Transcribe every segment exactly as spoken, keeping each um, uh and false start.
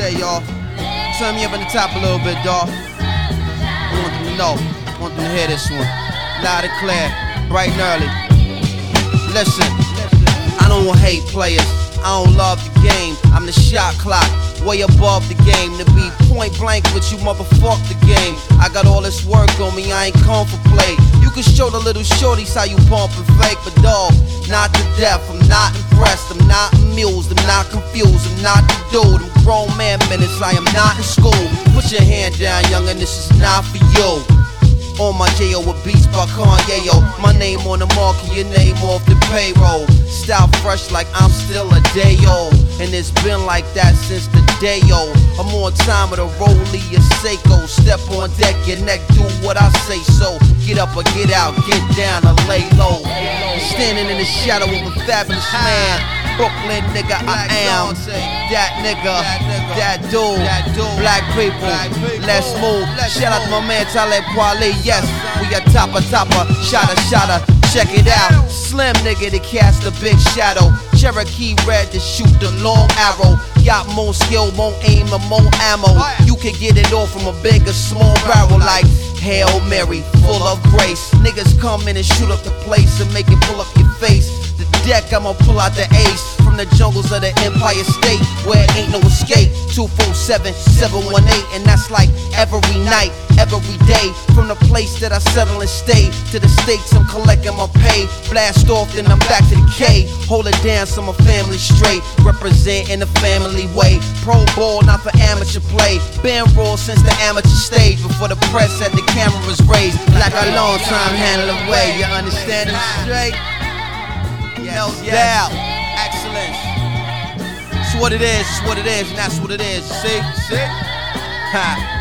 say, y'all. Turn me up in the top a little bit, dawg. I want them to know. I want them to hear this one. Loud and clear, bright and early. Listen, I don't hate players. I don't love the game. I'm the shot clock, way above the game. To be point blank with you, motherfuck the game. I got all this work on me, I ain't come for play. You can show the little shorties how you pump and fake, but dawg, not to death. I'm not impressed, I'm not amused, I'm not confused, I'm not the dude. I'm grown man minutes, I am not in school. Put your hand down, youngin', this is not for you. On my J O with beats by Kanye, yo. My name on the market, your name off the payroll. Style fresh like I'm still a day old. And it's been like that since the day old. I'm on time with a Rollie or Seiko. Step on deck, your neck, do what I say so. Get up or get out, get down or lay low. Standing in the shadow of a fabulous man. Brooklyn nigga, I am that nigga, that dude, black people, let's move. Shout out to my man Talib Kweli, yes, we a topper, topper, shotter, shotter, check it out. Slim nigga to cast a big shadow, Cherokee red to shoot the long arrow. Got more skill, more aim, and more ammo. You can get it all from a big or small barrel like Hail Mary, full of grace. Niggas come in and shoot up the place and make it pull up your face. The deck, I'ma pull out the ace from the jungles of the Empire State where ain't no escape. Two four seven, seven one eight, and that's like every night, every day. From the place that I settle and stay to the states I'm collecting my pay. Blast off, then I'm back to the K. Hold it down so my family straight. Represent in a family way. Pro ball, not for amateur play. Been raw since the amateur stage. Before the press had the cameras raised. Like a long time handle away. You understand it straight? No doubt. Excellence. It's what it is, it's what it is, and that's what it is. See? See? Ha.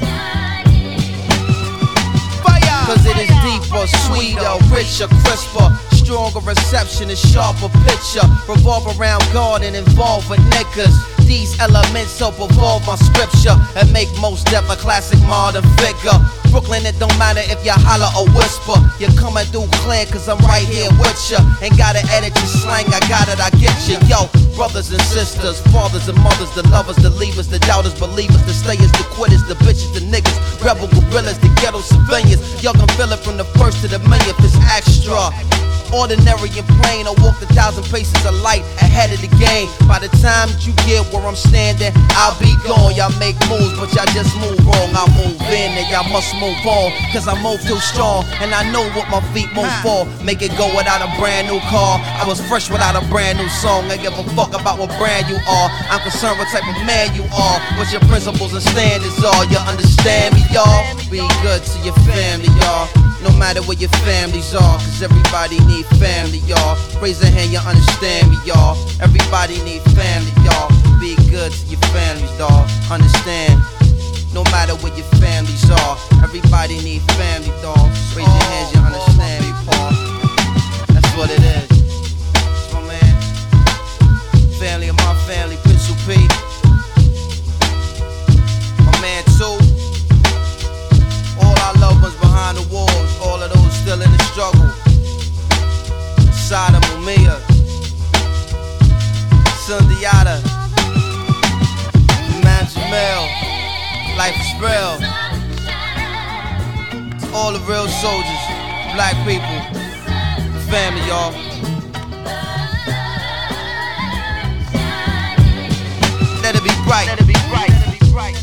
Cause it is deeper, sweeter, richer, crisper, stronger reception and sharper picture. Revolve around God and involve with niggas. These elements help evolve my scripture and make most death a classic modern figure. Brooklyn, it don't matter if you holler or whisper. You're coming through clear cause I'm right here with ya. Ain't gotta edit your slang, I got it, I get ya. Yo, brothers and sisters, fathers and mothers, the lovers, the leavers, the doubters, believers, the stayers, the quitters, the bitches, the niggas, rebel gorillas, the ghetto civilians. Y'all can feel it from the first to the millionth, it's extra. Ordinary and plain, I walked a thousand paces of light ahead of the game. By the time that you get where I'm standing, I'll be gone. Y'all make moves, but y'all just move wrong. I move in and y'all must move on, cause I move too strong, and I know what my feet move for. Make it go without a brand new car. I was fresh without a brand new song. I give a fuck about what brand you are. I'm concerned what type of man you are, what your principles and standards are. You understand me, y'all? Be good to your family, y'all. No matter where your families are, cause everybody need family, y'all. Raise a hand, you understand me, y'all. Everybody need family, y'all. Be good to your families, dawg. Understand. No matter where your families are, everybody need family, dawg. Raise your hands, you understand me, Paul. That's what it is. That's my man. Family of my family, Pencil P. My man too. All our loved ones behind the walls, all of those still in the struggle. Sada Mumia, Sundiata, Man Jamel, Life is real. To all the real soldiers, black people, family, y'all. Let it be bright. Let it be bright. Let it be bright.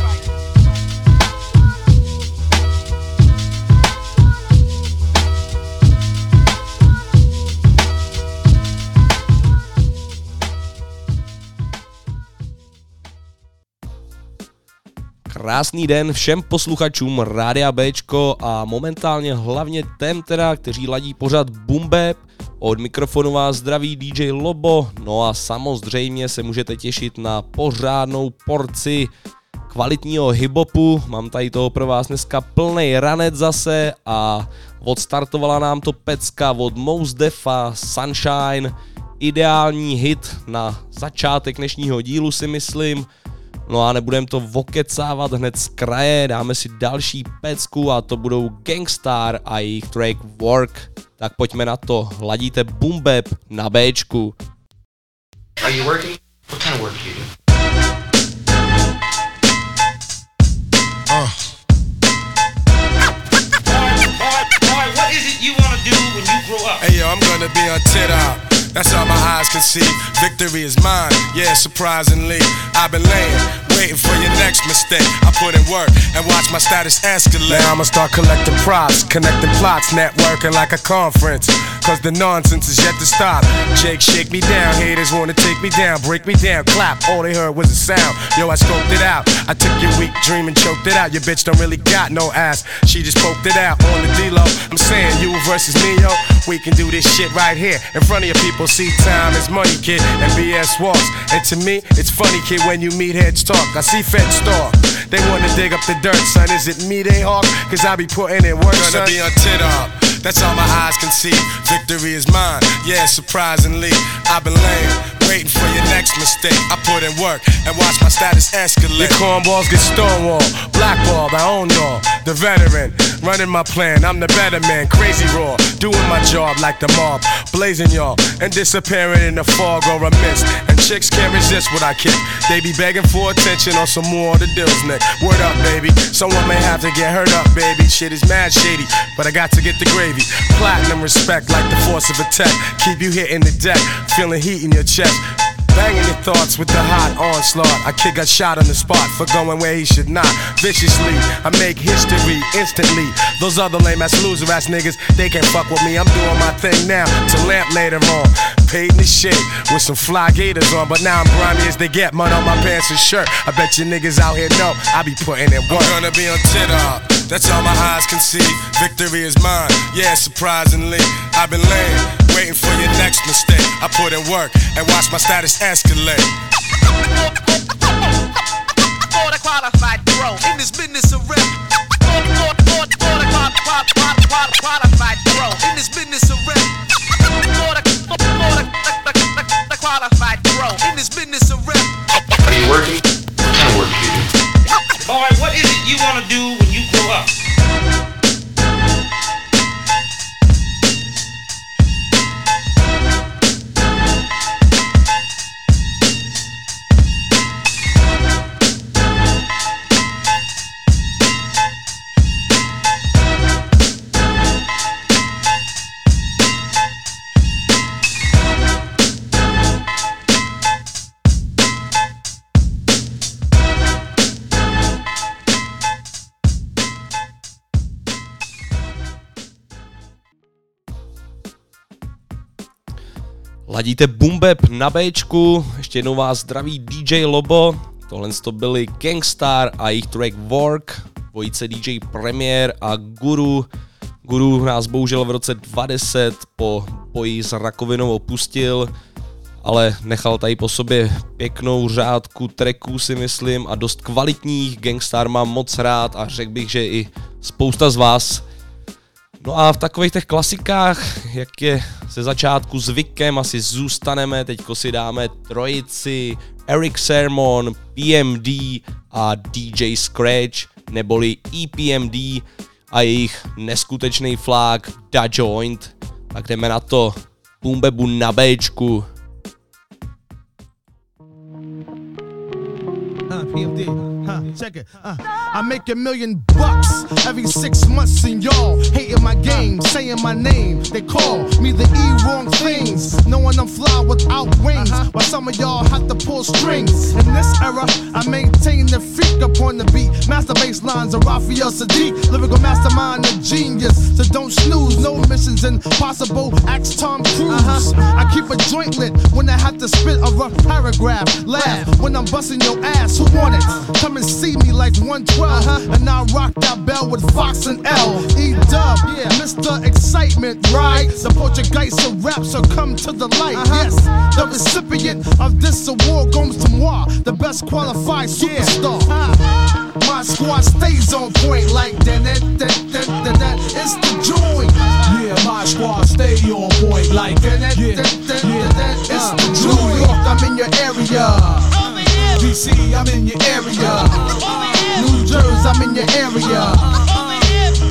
Krásný den všem posluchačům Rádia Béčko a momentálně hlavně těm teda, kteří ladí pořad Boom Bap. Od mikrofonu vás zdraví D J Lobo, no a samozřejmě se můžete těšit na pořádnou porci kvalitního hiphopu. Mám tady toho pro vás dneska plnej ranec zase a odstartovala nám to pecka od Mos Defa, Sunshine. Ideální hit na začátek dnešního dílu si myslím. No a nebudem to vokecávat hned z kraje, dáme si další pecku a to budou Gangstar a jejich track Work. Tak pojďme na to, ladíte Boom Bap na Béčku. Are you working? What kind of work do you do? gonna be on tip-top. That's all my eyes can see. Victory is mine, yeah, surprisingly. I've been laying, waiting for your next mistake. I put in work and watch my status escalate. Now I'ma start collecting props, connecting plots, networking like a conference. Cause the nonsense is yet to stop. Jake, shake me down, haters wanna take me down, break me down, clap, all they heard was a sound. Yo, I scoped it out, I took your weak dream and choked it out. Your bitch don't really got no ass, she just poked it out on the D-Lo. I'm saying you versus me, yo, we can do this shit right here in front of your people. See, time is money, kid, and B S walks. And to me, it's funny, kid, when you meet heads talk. I see feds talk, they wanna dig up the dirt, son. Is it me they hawk? Cause I be putting in work, son. Gonna be on tit-up, that's all my eyes can see. Victory is mine, yeah, surprisingly. I've been laying, waiting for your next mistake. I put in work and watch my status escalate. Your cornballs get stonewalled, blackballed, I own y'all. The veteran, running my plan, I'm the better man. Crazy raw, doing my job like the mob. Blazing y'all, and disappearing in the fog or a mist. And chicks can't resist what I kick. They be begging for attention on some more of the deals, Nick. Word up, baby, someone may have to get hurt up, baby. Shit is mad shady, but I got to get the gravy. Platinum respect like the force of a tech. Keep you hitting the deck, feeling heat in your chest. Banging your thoughts with the hot onslaught. A kid got shot on the spot for going where he should not. Viciously, I make history instantly. Those other lame ass loser ass niggas, they can't fuck with me. I'm doing my thing now to lamp later on. Paid in the shit with some fly gators on, but now I'm grimy as they get. Mud on my pants and shirt. I bet you niggas out here know I be putting in work. I'm gonna be on tit-up, that's all my eyes can see. Victory is mine, yeah, surprisingly. I've been laying, waiting for your next mistake. I put in work and watch my status escalate. For the qualified pro in this business of rap. For the qualified pro in this business of rap. For the qualified pro in this business of rap. Are you working? What kind of work do you do? Boy, what is it you wanna do when you grow up? Ladíte Boom Bap na Bčku, ještě jednou vás zdraví D J Lobo, tohle to byli Gangstar a jejich track Work, dvojice D J Premier a Guru. Guru nás bohužel v roce dva tisíce deset po boji s rakovinou opustil, ale nechal tady po sobě pěknou řádku tracků, si myslím, a dost kvalitních. Gangstar mám moc rád a řekl bych, že i spousta z vás. No a v takových těch klasikách, jak je ze začátku zvykem, asi zůstaneme. Teďko si dáme trojici Eric Sermon, P M D a D J Scratch, neboli E P M D a jejich neskutečný flák Da Joint. Tak jdeme na to. Boom Bapu na Bčku. Uh, P M D, huh, check it, uh, I make a million bucks every six months and y'all hating my game, saying my name. They call me the E wrong things, knowing I'm fly without wings, uh-huh. While some of y'all have to pull strings. In this era, I maintain the freak upon the beat. Master bass lines of Raphael Sadiq, lyrical mastermind and genius. So don't snooze, no missions impossible. Ask Tom Cruise. Uh-huh. I keep a joint lit when I have to spit a rough paragraph. Laugh when I'm busting your ass. Who want it? Come and see me like one twelve, uh-huh. And I rock that bell with Fox and L. E-Dub, yeah. Mister Excitement, right? The Portuguese of rap, so come to the light. Uh-huh. Yes, the recipient of this award goes to moi, the best qualified superstar. Yeah. Uh, my squad stays on point like that, that, that, that, that, that. It's the joint. Yeah, my squad stay on point like that, that, yeah, that, that, yeah. that, that. It's uh, the joint. New York, I'm in your area. D C, I'm in your area. New Jersey, I'm in your area.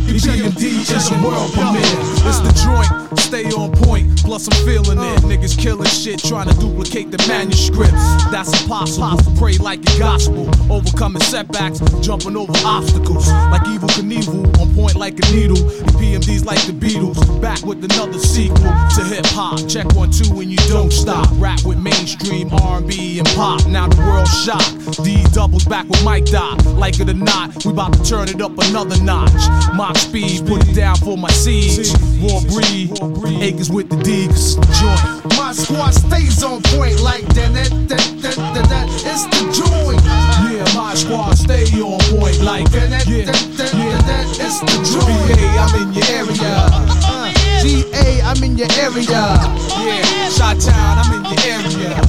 E P M D is a world premiere. It's the joint, stay on point, plus I'm feeling it. Niggas killing shit, trying to duplicate the manuscripts. That's impossible, pray like a gospel. Overcoming setbacks, jumping over obstacles. Like Evil Knievel, on point like a needle. E P M D's like the Beatles, back with another sequel to hip hop. Check one, two, and you don't stop. Rap with mainstream R and B and pop, now the world's shocked. D doubles back with Mike Dot. Like it or not, we about to turn it up another notch. Mock speed, put it down for my seeds. Raw breed, acres with the D, cause it's the joint. My squad stays on point like that, that, that, that, that, that. It's the joint. Yeah, my squad stay on point like that, that, yeah, that, that, yeah. that, that. It's the joint. V A, I'm in your area. Uh, G A, I'm in your area. Yeah, Chi-Town, I'm in your area.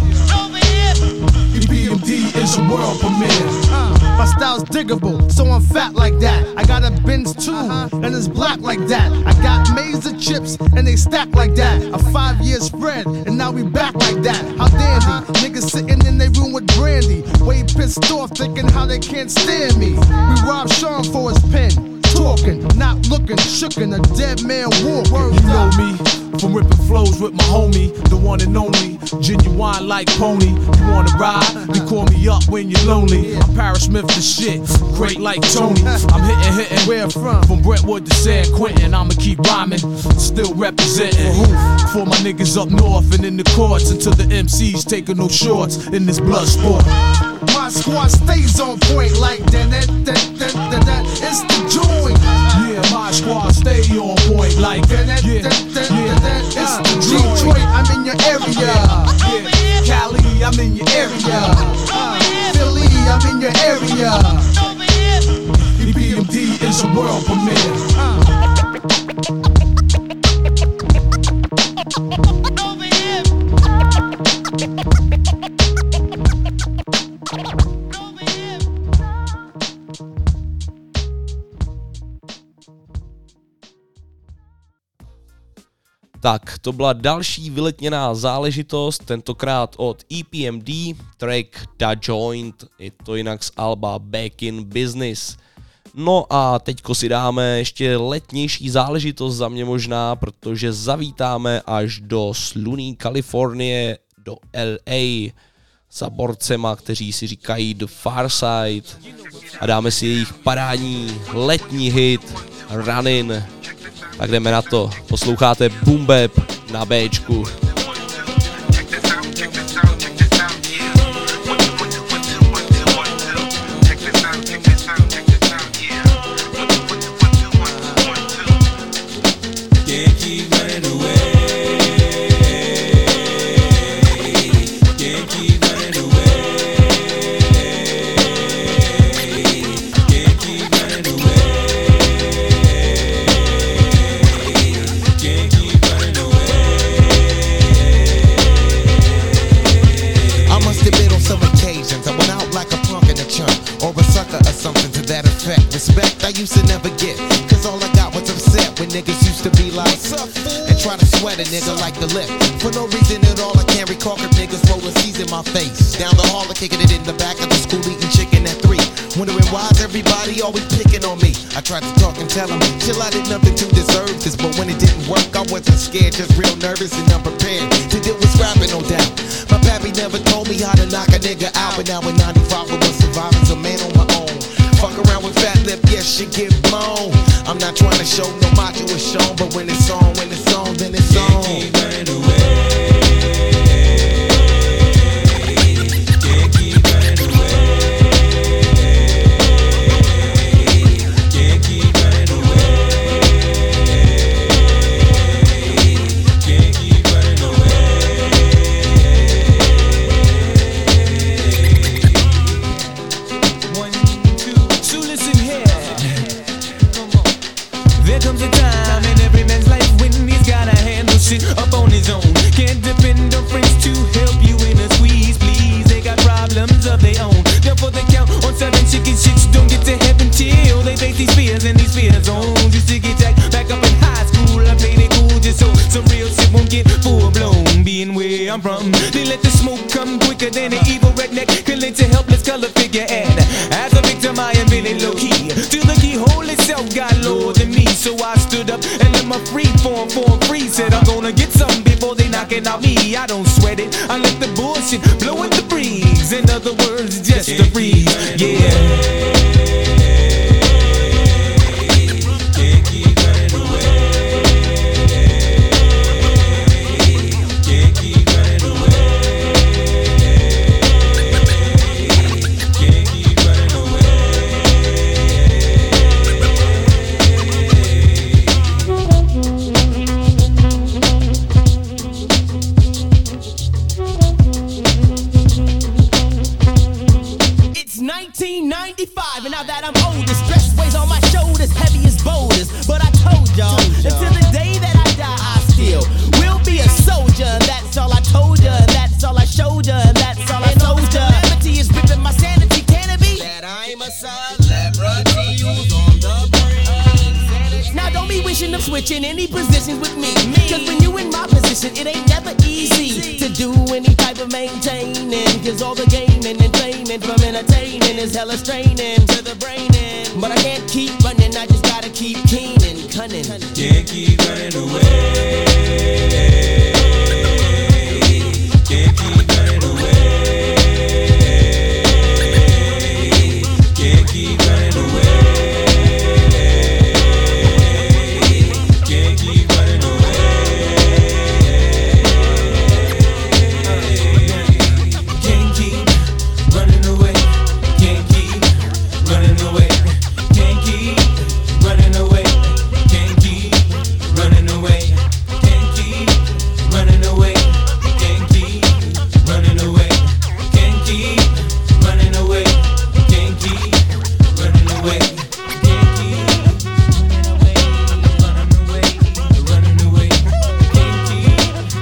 E P M D is a world premiere. Uh, my style's diggable, so I'm fat like that. I got a Benz too, uh-huh. and it's black like that. I got maize and chips, and they stack like that. A five-year spread, and now we back like that. How dandy, uh-huh. Niggas sitting in their room with brandy. Way pissed off, thinking how they can't stand me. We robbed Sean for his pen. Talking, not looking, shookin', a dead man walking. You know me, from ripping flows with my homie, the one and only, genuine like Pony. You wanna ride? You call me up when you're lonely. I'm Paris Smith the shit, great like Tony. I'm hitting, hitting, where from? From Brentwood to San Quentin. I'ma keep rhyming, still representing. For my niggas up north and in the courts, until the M Cs taking no shorts in this blood sport. My squad stays on point like that, that, that, that, that, that. It's the joint. Yeah, my squad stay on point like that, that, yeah, that, that, yeah. that, that. It's the joint. Detroit, I'm in your area. Yeah, Cali, I'm in your area. Uh, Philly, I'm in your area. E P M D is a world premiere. Uh. Tak, to byla další vyletněná záležitost, tentokrát od E P M D, track Da Joint, je to jinak z alba Back in Business. No a teďko si dáme ještě letnější záležitost za mě možná, protože zavítáme až do slunný Kalifornie, do L A, za borcema, kteří si říkají The Far Side, a dáme si jejich parádní letní hit Runnin'. Tak jdeme na to, posloucháte Boom Bap na Bčku. Respect I used to never get, cause all I got was upset when niggas used to be like, and try to sweat a nigga like the lip. For no reason at all I can't recall cause niggas rolling C's in my face. Down the hall kicking it in the back of the school eating chicken at three. Wondering why's everybody always picking on me. I tried to talk and tell them, chill, I did nothing to deserve this. But when it didn't work I wasn't scared, just real nervous and unprepared to deal with scrapping, no doubt. My pappy never told me how to knock a nigga out, but now in ninety-five I was surviving, a man on my own. Fuck around with fat lip, yes, she get blown. I'm not trying to show no macho is shown, but when it's on, when it's on, then it's on. Can't keep running away. Can't keep running away. Can't keep running away. Can't keep running away. One, two, so listen here. Come on. There comes a time in every man's life I'm from. They let the smoke come quicker than an evil redneck can lend to helpless color figure. And as a victim, I am really low key. Till the keyhole itself got lower than me, so I stood up and let my free form form free. Said I'm gonna get something before they knock it out me. I don't sweat it. I let the bullshit blow in the breeze. In other words, just a breeze. Yeah. nineteen ninety-five, and now that I'm older, stress weighs on my shoulders, heavy as boulders. But I told y'all, until the day that I die, I still will be a soldier. And that's all I told ya, and that's all I showed ya, and that's all I told ya. Calamity is ripping my sanity, can it be? That I'm a celebrity who's on the brink. Now don't be wishing of switching any positions with me, cause when you in my position, it ain't never easy to do any type of maintaining. Cause all the gaming and training from entertaining is hella straining to the brain. But I can't keep running, I just gotta keep keen and cunning. Can't keep running away. Can't keep running away. Can't keep running away. Can't keep running away. Can't keep running away. Can't keep running away. Can't keep running away. Can't keep running away. Can't keep running away. Can't keep running away. Can't keep running away. Can't keep running away. Can't keep running away. Running away. Can't keep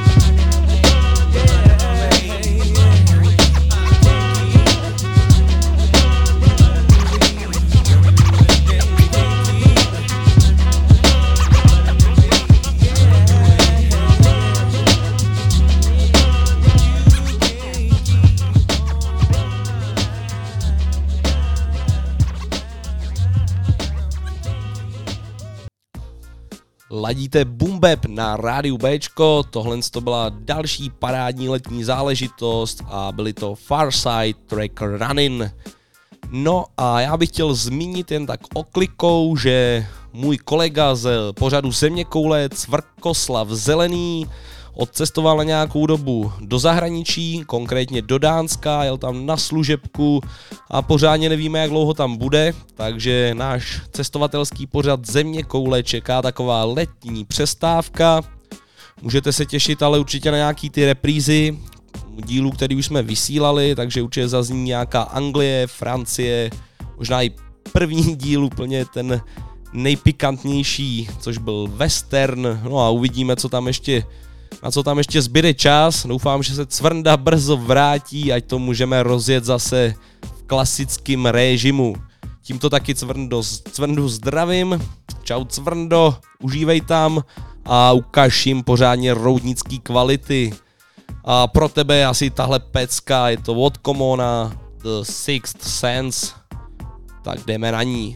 Ladíte Boom Bap na rádiu Bčko, tohle to byla další parádní letní záležitost a byly to Farside track Running. No a já bych chtěl zmínit jen tak oklikou, že můj kolega z pořadu Zeměkoule Cvrkoslav Zelený odcestoval na nějakou dobu do zahraničí, konkrétně do Dánska, jel tam na služebku a pořádně nevíme, jak dlouho tam bude, takže náš cestovatelský pořad Zeměkoule čeká taková letní přestávka. Můžete se těšit ale určitě na nějaký ty reprízy dílů, který už jsme vysílali, takže určitě zazní nějaká Anglie, Francie, možná i první díl úplně ten nejpikantnější, což byl western, no a uvidíme, co tam ještě na co tam ještě zbyde čas. Doufám, že se Cvrnda brzo vrátí, ať to můžeme rozjet zase v klasickém režimu. Tímto taky Cvrndo, Cvrndu zdravím. Čau Cvrndo, užívej tam a ukaž jim pořádně roudnický kvality. A pro tebe je asi tahle pecka, je to od Komona, The Sixth Sense. Tak jdeme na ní.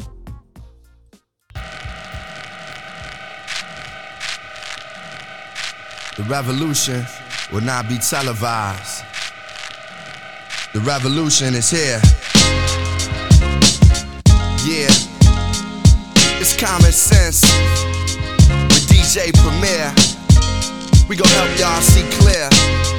The revolution will not be televised. The revolution is here. Yeah, it's common sense with D J Premier. We gon' help y'all see clear.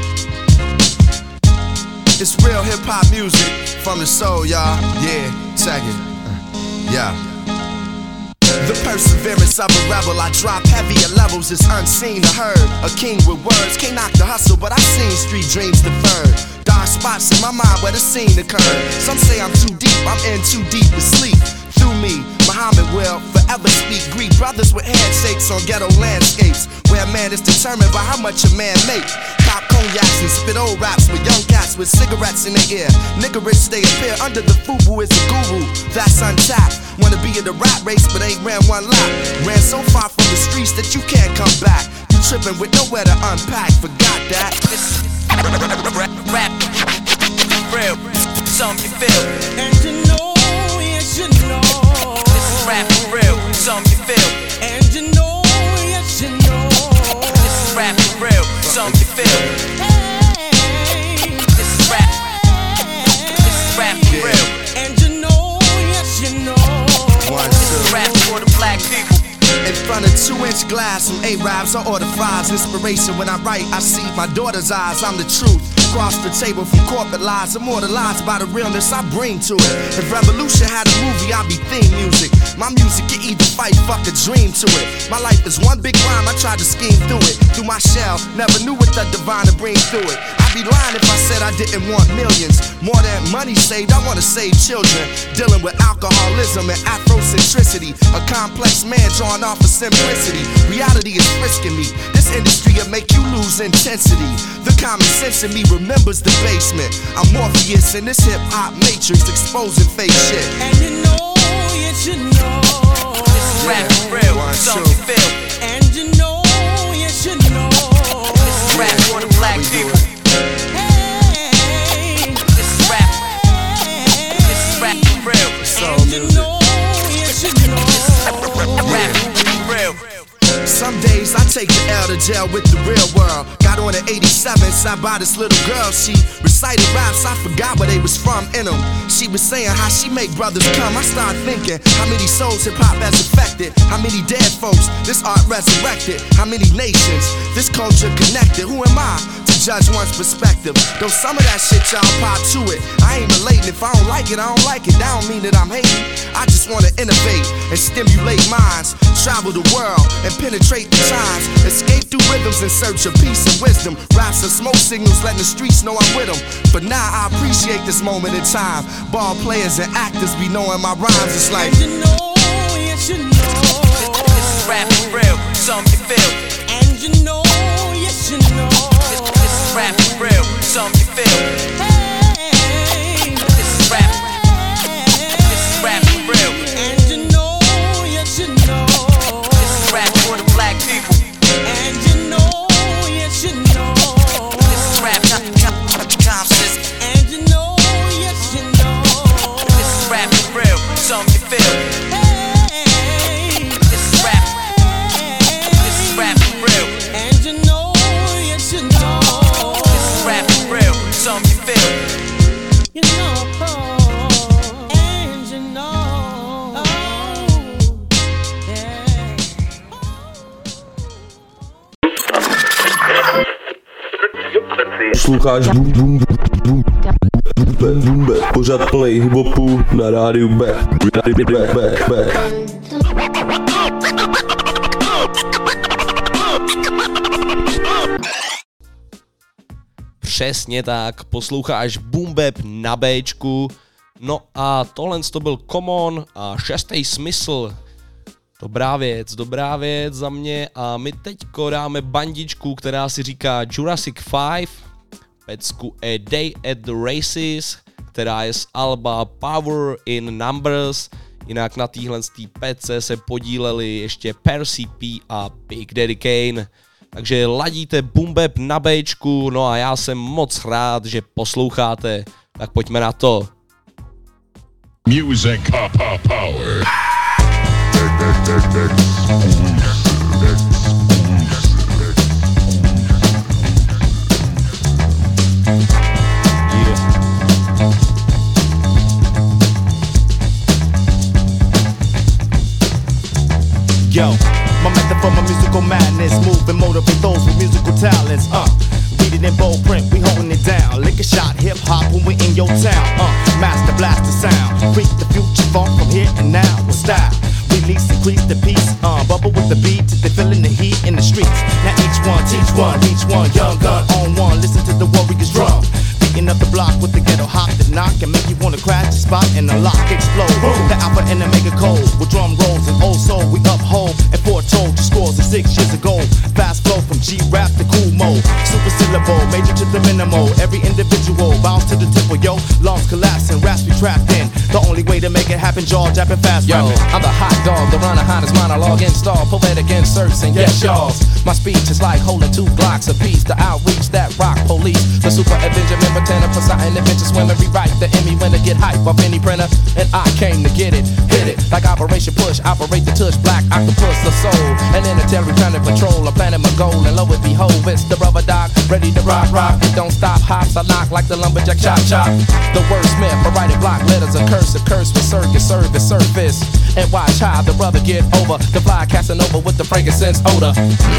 It's real hip hop music from the soul, y'all. Yeah, check it. Uh, yeah. The perseverance of a rebel, I drop heavier levels, it's unseen or heard. A king with words, can't knock the hustle, but I've seen street dreams deferred. Dark spots in my mind where the scene occurred. Some say I'm too deep, I'm in too deep to sleep. Through through me, Muhammad will forever speak Greek. Brothers with handshakes on ghetto landscapes, where a man is determined by how much a man make. Pop cognacs and spit old raps with young cats with cigarettes in their ear. Nigga rich they appear under the FUBU is a guru. That's untapped. Wanna be in the rap race but ain't ran one lap. Ran so far from the streets that you can't come back. You tripping with nowhere to unpack. Forgot that. Rap, real, something you feel. And you know, yes you know. This is rap for real, something you feel. And you know, yes you know. This is rap for real, something you feel. Hey, this is rap. This is rap for real. And you know, yes you know. One, two. This is rap for the black people. In front of two-inch glass, some A-Rabs, I order fries. Inspiration when I write, I see my daughter's eyes. I'm the truth. Across the table from corporate lies, immortalized by the realness I bring to it. If Revolution had a movie, I'd be theme music. My music can either fight, fuck a dream to it. My life is one big rhyme, I tried to scheme through it. Through my shell, never knew what the divine to bring through it. I'd be lying if I said I didn't want millions. More than money saved, I wanna save children. Dealing with alcoholism and Afrocentricity. A complex man drawn off of simplicity. Reality is frisking me. This industry will make you lose intensity. The common sense in me remembers the basement. I'm Morpheus in this hip-hop matrix, exposing fake shit. And you know, yes you know. This is rap for real, something you feel. And you know, yes you know. This is rap for the black people. Hey, this is rap. This is rap for real. And you know, yes you know. Rap for real. Some days I take the L to jail with the real world. Got on an eighty-seven, sat by this little girl. She recited raps, I forgot where they was from in them. She was saying how she make brothers come. I started thinking, how many souls hip-hop has affected? How many dead folks this art resurrected? How many nations this culture connected? Who am I to judge one's perspective? Though some of that shit y'all pop to it, I ain't relating. If I don't like it, I don't like it. That don't mean that I'm hating. I just wanna innovate and stimulate minds. Travel the world and penetrate the times. Escape through rhythms in search of peace and wisdom. Raps and smoke signals letting the streets know I'm with them. For now I appreciate this moment in time. Ball players and actors be knowing my rhymes. It's like, and you know, yes you know. This is rap for real, something you feel. And you know, yes you know. This, this is rap for real, something you feel. Hey, this is rap. This is rap for real. And you know, yes you know. This is rap for the black people. And you know, yes you know. This is rap, conscious. And you know, yes you know. This is rap for real, something you feel. Hey, this is rap. This is rap for real. And you know, yes you know. This is rap for real, something you feel. You know, and you know. Yeah. Posloucháš Boom Boom Boom Boom Boom Boom pořad play hiphopu na rádiu B. B, B, B. Přesně tak, posloucháš Boom Bap na Bčku. No a tohle to byl Common a šestý smysl. Dobrá věc, dobrá věc za mě a my teďko dáme bandičku, která si říká Jurassic five, pecku A Day at the Races, která je z alba Power in Numbers. Jinak na téhle pece se podíleli ještě Percy P a Big Daddy Kane. Takže ladíte Boom Bap na Bčku, no a já jsem moc rád, že posloucháte, tak pojďme na to. Music power. Yo, my method for my musical madness, move and motivate those with musical talents. Uh, read it in bold print, we holding it down. Lick a shot, hip hop when we in your town. Uh, master blast the sound, creep the future funk from here and now with style. Release, increase the peace, uh, bubble with the beat till they feeling the heat in the streets. Now each one, teach one, each one, young gun on one. Listen to the warriors drum. Beating up the block with the ghetto hop that knock and make you wanna crash. Just spot and the lock explode. Boom. The alpha and the mega code with drum rolls and old soul we uphold and foretold the scores of six years ago. Fast flow from G-rap to cool mode, super syllable, major to the minimal. Every individual bounce to the tempo, yo. Lungs collapsing, raps be trapped in. The only way to make it happen, jaw japping fast. Yo, rapping. I'm the hot dog, the runner, hottest monologue install, poetic inserts and yes, y'alls. My speech is like holding two blocks apiece. The outreach that rock police, the super Avenger member, tenor, Poseidon, adventure swimmer, rewrite the Emmy winner, get hype off any printer. And I came to get it, hit it like Operation Push, operate the touch, black octopus, the soul, and interstellar planet patrol. I'm planning my goal, and lo and behold, it's the rubber dog, ready to rock, rock. It don't stop, hops, I knock like the lumberjack, chop, chop. The wordsmith, I write it block letters, a curse, a curse with circus, service, surface. And watch how the brother get over, the fly casting over with the frankincense odor.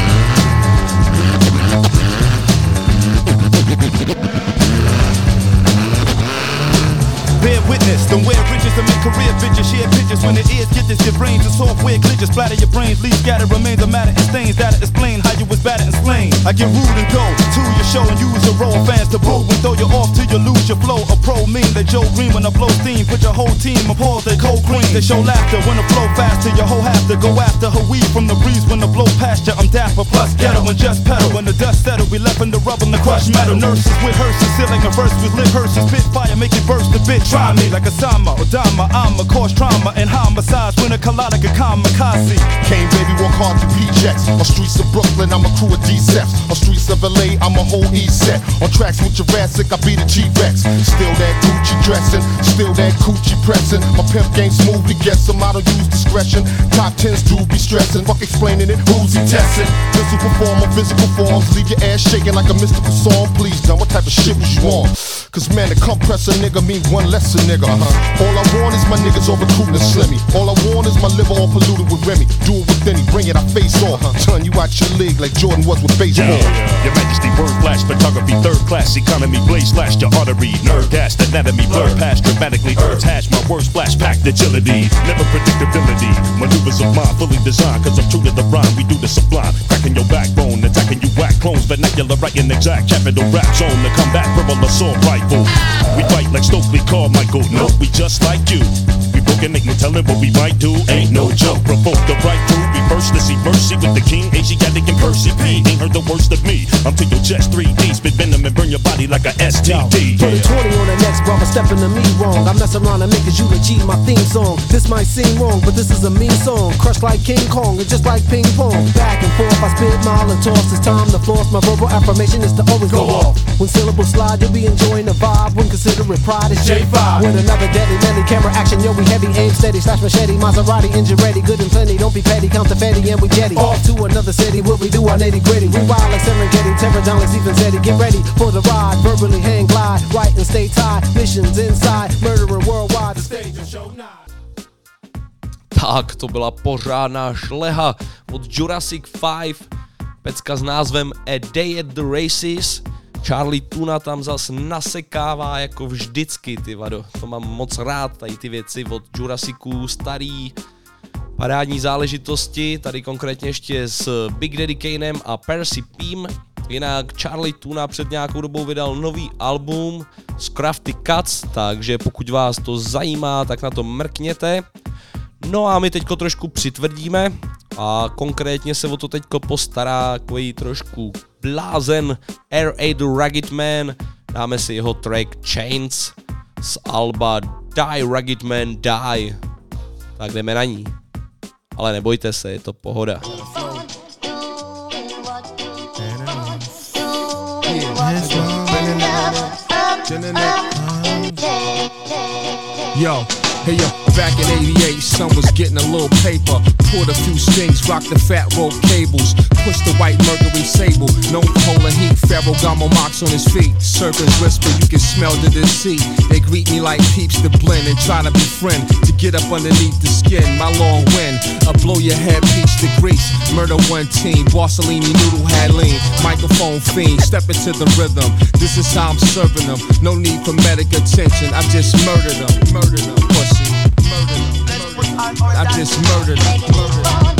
Bear witness, don't wear riches to make career bitches. Share pictures when the ears get this. Your brains and software glitches. Splatter your brains, leave scattered remains of matter and stains. That'll explain how you was battered and slain. I get rude and go to your show and use a roll. Fans to boo and throw you off till you lose your flow. A pro mean that Joe Green when I blow steam. Put your whole team on pause, they cold green. They show laughter when the flow faster. Your whole have to go after her weed from the breeze when the blow past you. I'm dapper plus ghetto and just pedal. When the dust settle, we left in the rubber and the crushed metal. Nurses with hearses, ceiling a verse with lit hearses. Spit fire, make it burst a bit. Try me like a Sama or Dama. I'm a cause trauma and homicides when a colonic a kamikaze. Came baby, walk hard to P-Jets. On streets of Brooklyn, I'm a crew of D-Ceps. On streets of L A, I'm a whole East set. On tracks with Jurassic, I be the G-Rex. Still that Gucci dressing, still that Coochie pressing. My pimp game smoothly guess him, I don't use discretion. Top tens do be stressing, fuck explaining it, who's he testing? Physical perform on physical forms, leave your ass shaking like a mystical song. Please, done, what type of shit was you on? Cause man, to compress a nigga mean one less a nigga. Uh-huh. All I want is my niggas all recruiting to slimmy. All I want is my liver all polluted with Remy. Do it with any, bring it, I face off. Uh-huh. Turn you out your league like Jordan was with baseball. Yeah, yeah. Your Majesty, word flash, photography, third class economy, blaze slash your artery, nerve gas, anatomy, blur past dramatically, herbs hash, my words splash, packed agility, never predictability, maneuvers of mine, fully designed, cause I'm true to the rhyme, we do the sublime, cracking your backbone, attacking you whack clones, vernacular writing exact, capital rap zone, to combat verbal assault rifle, we fight like Stokely Carmichael, nope, we just like you, we broken, ain't no telling what we might do, ain't no joke, provoke the right crew, we first to see mercy with the king, Asiatic and Percy P, ain't heard the worst of me, I'm to your chest, three D, spit venom and burn your body like a S T D. Put a twenty on the next brother stepping to me wrong. I mess around and make his eulogy my theme song. This might seem wrong, but this is a mean song. Crushed like King Kong and just like ping pong. Back and forth, I spit mile and toss. It's time to floss. My verbal affirmation is to always go, go off. When syllables slide, you'll be enjoying the vibe. When considering pride, it's J five. With another deadly medley, camera action, yo, we heavy, aim steady, slash machete, Maserati, engine ready, good and plenty. Don't be petty, count the fatty, and we jetty off to another city. What we do our nitty gritty. We wild like Serengeti, terror down like Stephen Zeddy. Get ready for the ride, verbally hang glide, right and stay tied. Missions inside, murdering worldwide. The stage of show nine. Tak, to byla pořádná šleha od Jurassic five, pecka s názvem A Day at the Races. Charlie Tuna tam zas nasekává jako vždycky, ty vado. To mám moc rád, tady ty věci od Jurassiců, starý parádní záležitosti, tady konkrétně ještě s Big Daddy Kanem a Percy Pím. Jinak Charlie Tuna před nějakou dobou vydal nový album z Crafty Cuts, takže pokud vás to zajímá, tak na to mrkněte. No a my teďko trošku přitvrdíme a konkrétně se o to teďko postará takový trošku blázen R A The Rugged Man. Dáme si jeho track Chains z alba Die Rugged Man Die. Tak jdeme na ní. Ale nebojte se, je to pohoda. Yo, hey yo, back in eighty-eight, son was getting a little paper. Poured a few strings, rocked the fat rope cables. Pushed the white Mercury Sable, known for holding heat. Ferragamo marks on his feet. Serpents whisper, you can smell the deceit. They greet me like peeps to blend and try to befriend. To get up underneath the skin, my long wind. I blow your head, peach to grease. Murder one team, Borsellini noodle had lean. Microphone fiend, step into the rhythm. This is how I'm serving them. No need for medic attention, I just murdered them. Murdered them, pussy. Murdered them. I just murdered them. Murdered them.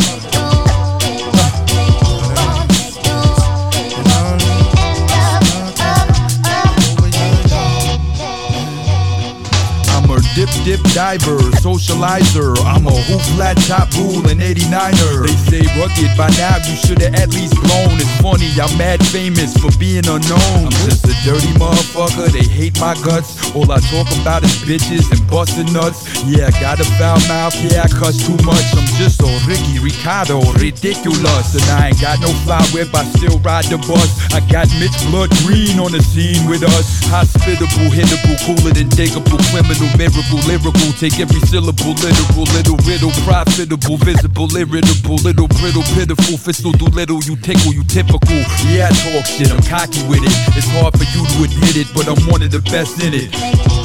dip diver, socializer. I'm a hoop flat top rule and eighty-niner. They say rugged, by now you should've at least blown. It's funny, I'm mad famous for being unknown. I'm just a dirty motherfucker, they hate my guts. All I talk about is bitches and busting nuts. Yeah, I got a foul mouth, yeah, I cuss too much. I'm just so Ricky Ricardo, ridiculous. And I ain't got no fly whip, I still ride the bus. I got Mitch Blood Green on the scene with us. Hospitable, hittable, cooler than digable, criminal, miracle, lyrical. Take every syllable, literal, little riddle, profitable, visible, irritable, little brittle, pitiful, fistal, do little, you tickle, you typical. Yeah, I talk shit, I'm cocky with it. It's hard for you to admit it, but I'm one of the best in it.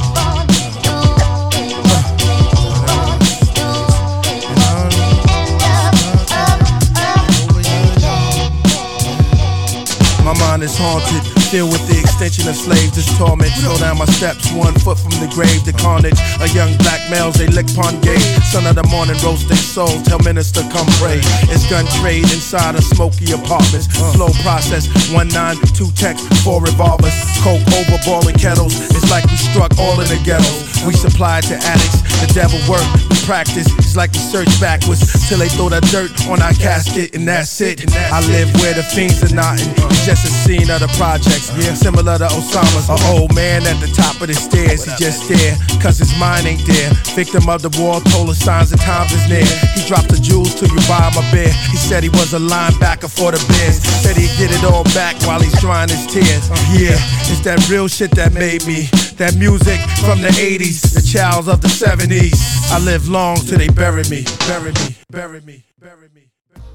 My mind is haunted, filled with the extension of slaves, this torment. Slow down my steps, one foot from the grave, the carnage. A young black males, they lick pon gay. Son of the morning, roasting souls, tell minister come pray. It's gun trade inside of smoky apartments. Slow process, one nine, two texts, four revolvers. Coke over boiling kettles, it's like we struck all in the ghettos. We supply to addicts, the devil work, we practice. It's like we search backwards, till they throw the dirt on our casket, and that's it. I live where the fiends are knotting. Just a scene of the projects, yeah, similar to Osama's. An old man at the top of the stairs, he just there, cause his mind ain't there. Victim of the war, told us signs of times is near. He dropped the jewels till you buy him a beer. He said he was a linebacker for the Bears. Said he'd get it all back while he's drying his tears. Yeah, it's that real shit that made me. That music from the eighties, the childs of the seventies. I live long till they bury me, bury me, bury me, bury me.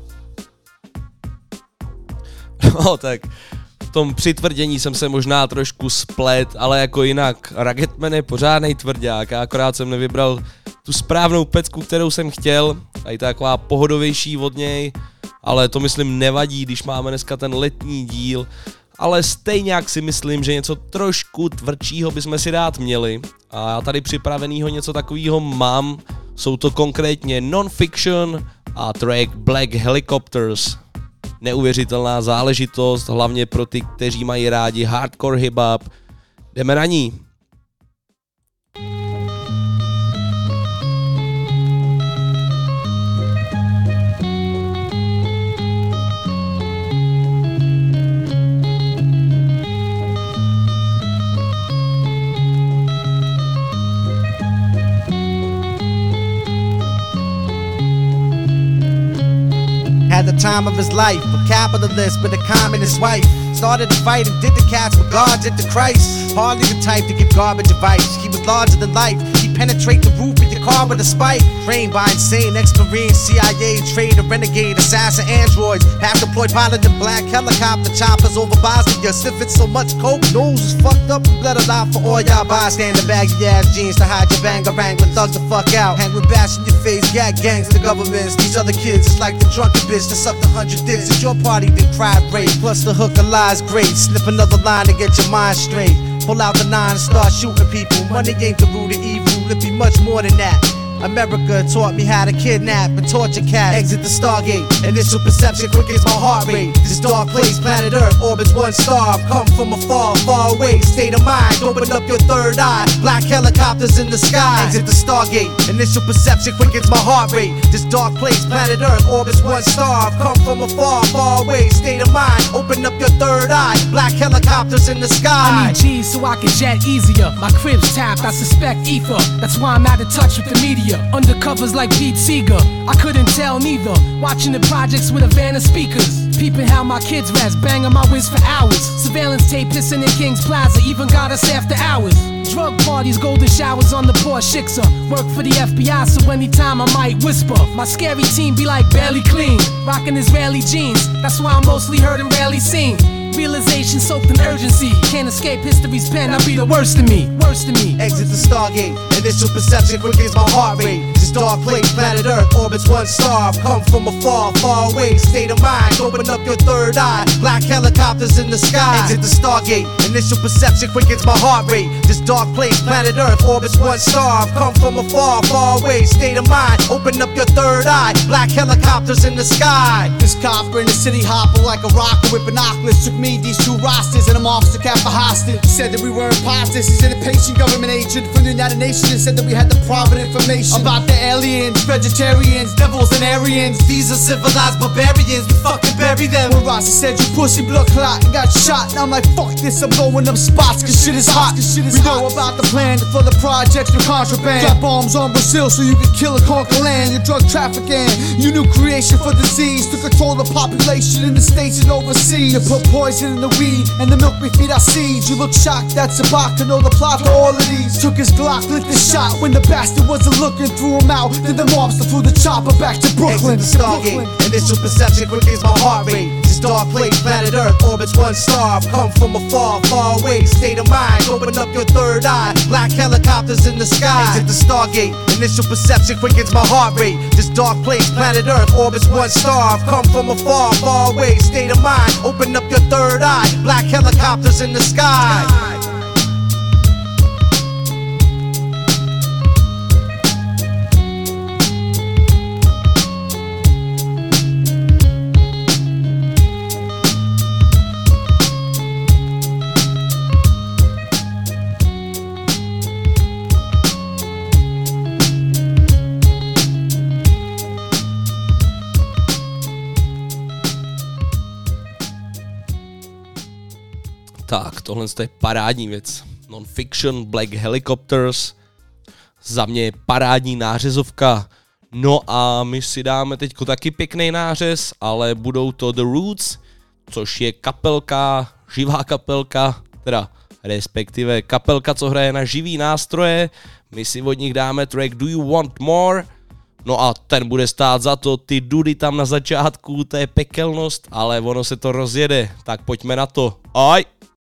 No tak, v tom přitvrdění jsem se možná trošku splet, ale jako jinak, Ruggedman je pořádnej tvrdák, já akorát jsem nevybral tu správnou pecku, kterou jsem chtěl, a je to taková pohodovější od něj, ale to myslím nevadí, když máme dneska ten letní díl, ale stejně jak si myslím, že něco trošku tvrdšího bychom si dát měli, a já tady připravenýho něco takového mám, jsou to konkrétně Non-Fiction a track Black Helicopters. Neuvěřitelná záležitost, hlavně pro ty, kteří mají rádi hardcore hip-hop. Jdeme na ní. Had the time of his life, a capitalist with a communist wife. Started a fight and did the cats with guards at the Christ. Hardly the type to give garbage advice. He was larger than life. He penetrate the roof of your car with a spike. Trained by insane ex-marine, C I A, traitor, renegade, assassin, androids. Half deployed pilot in black helicopter choppers over Bosnia. Sniffing so much coke, nose was fucked up and bled a lot for all y'all bystander. Baggy ass jeans to hide your bangarang with thugs the fuck out. Hang with bash in your face, gag gangs, the governments. These other kids is like the drunken bitch that sucked a hundred dicks at your party, then cried rape. Plus the hook of lies great. Snip another line to get your mind straight. Pull out the nine and start shooting people. Money ain't the root of evil, it be much more than that. America taught me how to kidnap and torture cats. Exit the Stargate, initial perception quick as my heart rate. This dark place, planet Earth, orbits one star. I've come from afar, far away, state of mind. Open up your third eye, black helicopters in the sky. Exit the Stargate, initial perception quick as my heart rate. This dark place, planet Earth, orbits one star. I've come from afar, far away, state of mind. Open up your third eye, black helicopters in the sky. I need G's so I can jet easier. My crib's tapped, I suspect ether. That's why I'm out of touch with the media. Undercovers like Pete Seeger, I couldn't tell neither. Watching the projects with a van of speakers. Peeping how my kids rest, banging my whiz for hours. Surveillance tape pissing in King's Plaza, even got us after hours. Drug parties, golden showers on the poor Shiksa. Work for the F B I, so anytime I might whisper. My scary team be like barely clean, rocking Israeli jeans. That's why I'm mostly heard and rarely seen. Realization soaked in urgency. Can't escape history's pen, I'll be the worst of me. Worst of me. Exit the Stargate. Initial perception quick as my heart rate. This This dark place, planet Earth, orbits one star. Come from afar, far away, state of mind. Open up your third eye. Black helicopters in the sky. Exit the Stargate. Initial perception quickens my heart rate. This dark place, planet Earth, orbits one star. Come from afar, far away, state of mind. Open up your third eye. Black helicopters in the sky. This copper in the city hopper like a rocker with binoculars. Took me these two rosters and I'm officer kept for hostage. Said that we were imposters. He's an impatient government agent from the United Nations and said that we had the private information about the aliens, vegetarians, devils and Aryans. These are civilized barbarians. We fucking bury them. When Rossi said you pussy blood clot and got shot, and I'm like fuck this. I'm blowing up spots cause shit is hot. Cause shit is we hot. Know about the plan for the projects with contraband. Drop bombs on Brazil so you can kill and conquer land. Your drug trafficking, you new creation for disease to control the population in the states and overseas. You put poison in the weed and the milk we feed our seeds. You look shocked, that's a bot to know the plot for all of these. Took his Glock, lit the shot when the bastard wasn't looking, threw him out. Then the mobster flew the chopper back to Brooklyn. Exit the Stargate, initial perception quickens my heart rate. This dark place, planet Earth, orbits one star. Come from afar, far away, state of mind. Open up your third eye. Black helicopters in the sky. Exit the Stargate, initial perception quickens my heart rate. This dark place, planet Earth, orbits one star. Come from afar, far away, state of mind. Open up your third eye. Black helicopters in the sky. Tak, tohle je parádní věc. Non-fiction, Black Helicopters. Za mě je parádní nářezovka. No a my si dáme teďko taky pěkný nářez, ale budou to The Roots, což je kapelka, živá kapelka, teda respektive kapelka, co hraje na živý nástroje. My si od nich dáme track Do You Want More? No a ten bude stát za to, ty dudy tam na začátku, to je pekelnost, ale ono se to rozjede, tak pojďme na to. Aj!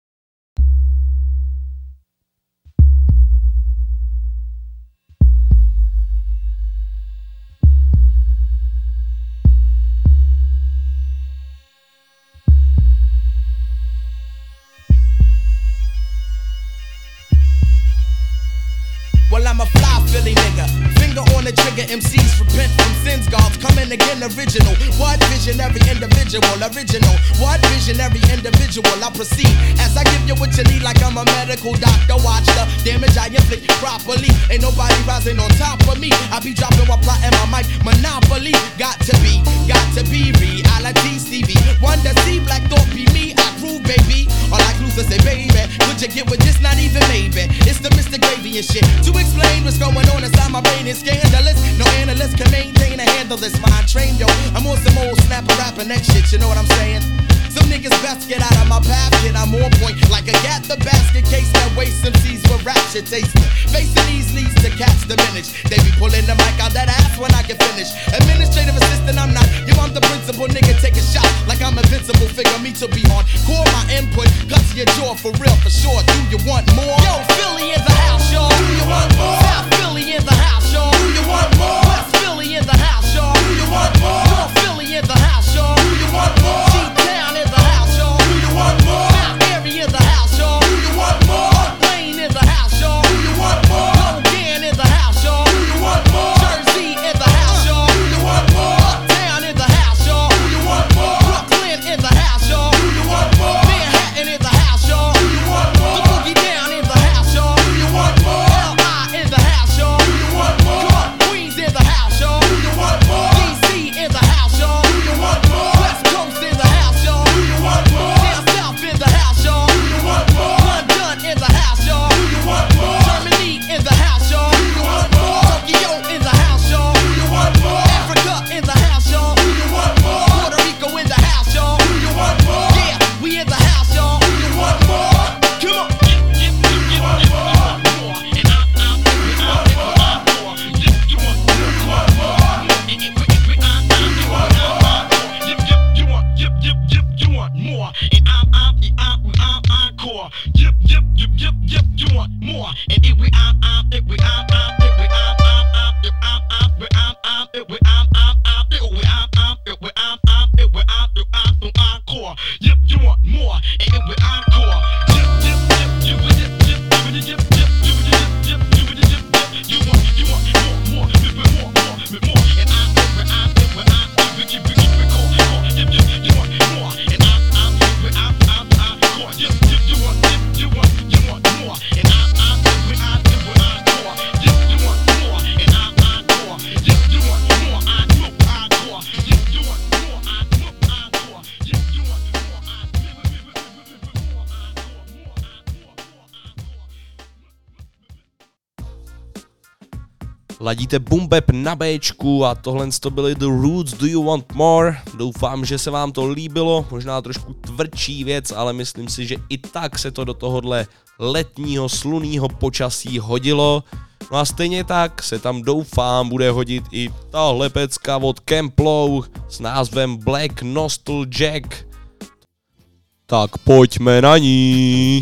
Well, I'm a fly Philly nigga. Finger on the trigger, M Cs repent from sins. God's coming again, original. What visionary individual, original. What visionary individual, I proceed as I give you what you need like I'm a medical doctor. Watch the damage I inflict properly. Ain't nobody rising on top of me. I be dropping while plotting my mic. Monopoly, got to be, got to be reality. Stevie, one to see black thought be me. I prove, baby. All like Luther say, baby, would you get with this? Not even maybe. It's the Mister Gravy and shit. To explain what's going on inside my brain is scandalous. No analyst can maintain a handle this mind train, yo. I'm on some old snapper rapping that shit, you know what I'm saying? Some niggas best get out of my path, kid. I'm on point like a gat the basket case that waste M Cs for rap shit tasting. Facing these leads to catch the minute. They be pulling the mic out that ass when I get finished. Administrative assistant, I'm not. Yo, I'm the principal nigga. Take a shot like I'm invincible. Figure me to be on. Core my input, cuts your jaw for real, for sure. Do you want more? Yo, Philly in the house, y'all. Do you want more? South Philly in the house, y'all. Do you want more? West Philly in the house, y'all. Do you want more? North Philly in the house, y'all. Do you want more? G-Town in the house, y'all. Do you want more? Mount Airy in the house, y'all. Do you want more? Wayne in the house, y'all. Do you want more? Logan in the house, y'all. Do you want more? Jersey in the house, y'all. Do you want more? Uptown in the house, y'all. Do you want more? Brooklyn in the house, y'all. Do you want more? Manhattan in the house, y'all. Do you want more? The Boogie Down in the house, Ladíte Boom Bap na Bčku a tohle to byly The Roots, Do You Want More? Doufám, že se vám to líbilo, možná trošku tvrdší věc, ale myslím si, že i tak se to do tohohle letního slunného počasí hodilo. No a stejně tak se tam doufám bude hodit i tahle pecka od Camplow s názvem Black Nostalgic. Tak pojďme na ní.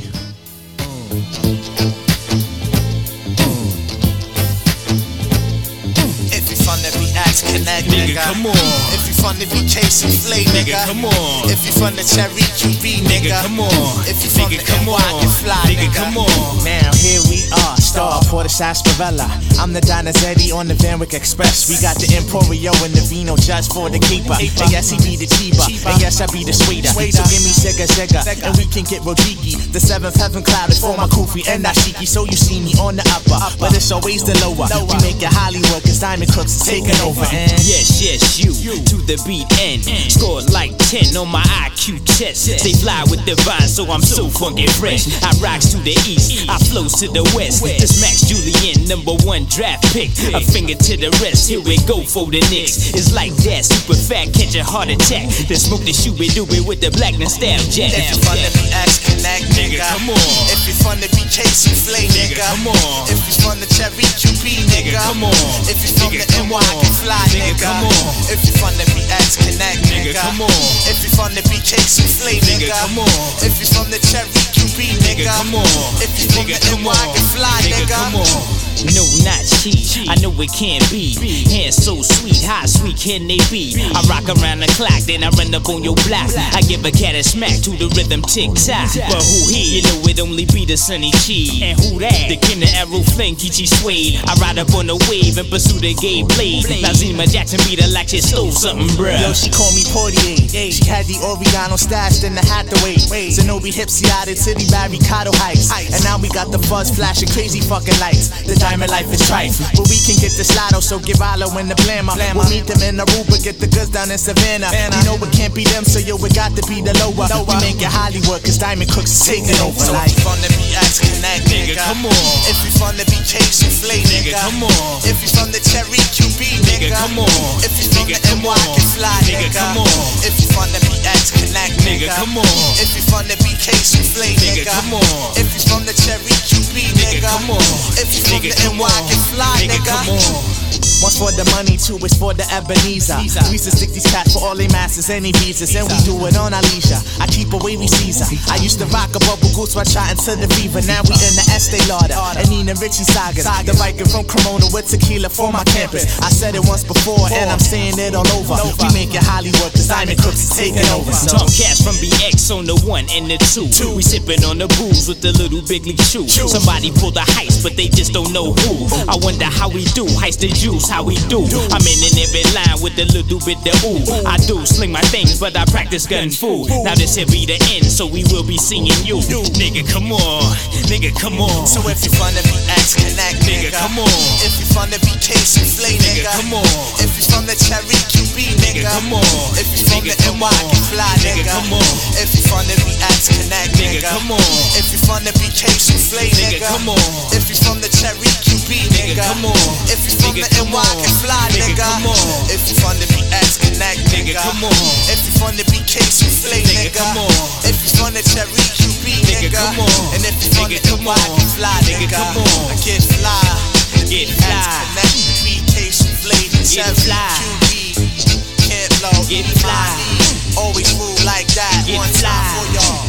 Connect, nigga, come on. If you from the B K C Flay, nigga, come on. If you from the Cherry Q B, nigga, come on. If you from the N Y, get fly, nigga, come on. Now here we are, star for the sarsaparilla. I'm the Donizetti on the Van Wyck Express. We got the Emporio and the Vino just for the keeper. And yes, he be the cheaper, and yes, I be the sweeter. So give me Sega Sega, and we can get Rodiki. The seventh heaven cloud is for my Kufi and Nashiki. So you see me on the upper, but it's always the lower. We make it Hollywood, cause Diamond Crooks is taking over. And yes, yes, you, to the beat and scored like ten on my I Q test. They fly with divine, so I'm so funky fresh. I rocks to the east, I flows to the west. This Max Julian, number one draft pick. A finger to the rest, here we go for the Knicks. It's like that, super fat, catch a heart attack. Then smoke the shooby dooby with the black nostalgia. If you from the B X Connect, nigga, come on. If you from the B K C Flay, nigga, come on. If you from the Cherry Q B, nigga, come on. If you from the N Y, get fly, nigga, come on. If you from the B X Connect, nigga, come on. If you from the B K C Flay, nigga, come on. If you from the Cherry Q B, nigga, come on. If you from the N Y, get fly, nigga, come on. No, not cheap, I know it can't be. Hands so sweet, how sweet can they be? I rock around the clock, then I run up on your block. I give a cat a smack to the rhythm tick-tock. But who he? You know it only be the Sunny Chi. And who that? The king of Arrow Flame, Kichi Suede. I ride up on the wave and pursue the gay blade. Now Zima Jackson beat her like she stole something, bruh. Yo, she called me Portier. She had the Oriano stashed in the Hathaway. Zenobi Hipsy City by Ricardo Heights. And now we got the fuzz flashing crazy fucking lights. The diamond life is trife, but we can get the Lotto, so give Alo in the blammer. We'll meet them in Aruba, get the goods down in Savannah. You know it can't be them, so yo, it got to be the lower. We make it Hollywood, cause Diamond Crooks is taking over. So if you from the B X Connect, nigga, come on. If you from the B K C Flay, nigga, come on. If you from the Cherry Q B, nigga, come on. If you from the N Y, get fly, nigga, come on. If you from the B X Connect, nigga, come on. If you from the B K C Flay, nigga, come on. If you from the Cherry Q B, nigga, come on. If you from the N Y, get fly, nigga, come on. One's for the money, two is for the Ebenezer. We used to stick these cats for all they masters, any visas, and we do it on our leisure. I keep away we Caesar. I used to rock a bubble goose while shot into the fever. Now we in the Estee Lauder and Nina Richie sagas. The biker from Cremona with tequila for my campus. I said it once before and I'm saying it all over. We make it Hollywood, cause Diamond Crooks is taking over. So. Talk cash from B X on the one and the two. We sipping on the booze with the little big league shoe. Somebody pull the heist, but they just don't know who. I wonder how we do, heist the juice, how we do. I'm in in every line with a little bit of ooh. I do sling my things, but I practice gun fu. Now this here be the end, so we will be seeing you. Nigga, come on, nigga, come on. So if you from the B X Connect, nigga, come on. If you from the B K C Flay, nigga, come on. If you from the Cherry Q B, nigga, come on. If you from the N Y, get fly, nigga, come on. If you from the B X Connect, nigga, come on. If you from the B K C Flay, nigga, come on. If you from the Cherry Q B, nigga, come on. If you from the N Y, get fly, nigga, come on. If you from the B X Connect, nigga, come on. If you from the B K C Flay, nigga, come on. If you from the Cherry Q B, nigga, come on. And if you from the N Y, get fly, nigga, come on. Get fly, get fly. Connect the B K C Flay, the Cherry Q B, can't blow, get fly. Always move like that. Get One fly. time for y'all.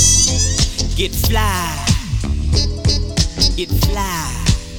Get fly. Get fly.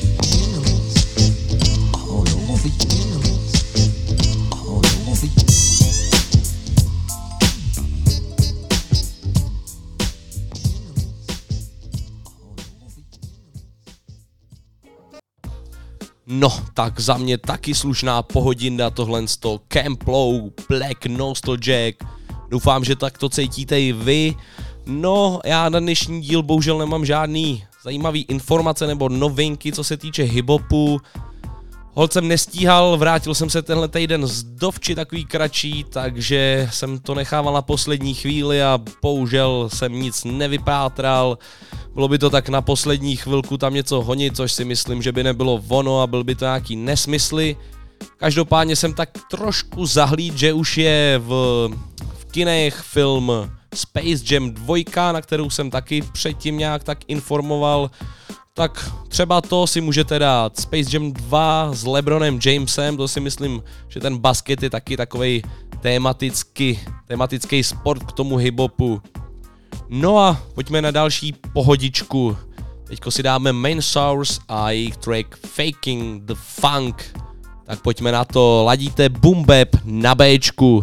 No, tak za mě taky slušná pohodinda tohle z toho Camplow, Black Nostalgic. Doufám, že tak to cítíte i vy. No, já na dnešní díl bohužel nemám žádný zajímavý informace nebo novinky, co se týče hip-hopu. Holt jsem nestíhal, vrátil jsem se tenhle týden z dovči takový kratší, takže jsem to nechával na poslední chvíli a bohužel jsem nic nevypátral. bylo by to tak na poslední chvilku tam něco honit, což si myslím, že by nebylo ono a byl by to nějaký nesmysly. Každopádně jsem tak trošku zahlíd, že už je v, v kinech film Space Jam dva, na kterou jsem taky předtím nějak tak informoval. Tak třeba to si můžete dát. Space Jam dva s LeBronem Jamesem, to si myslím, že ten basket je taky takovej tematický, tematický sport k tomu hip-hopu. No a pojďme na další pohodičku. Teďko si dáme Main Source a jejich track Faking the Funk. Tak pojďme na to, ladíte Boom Bap na Bčku.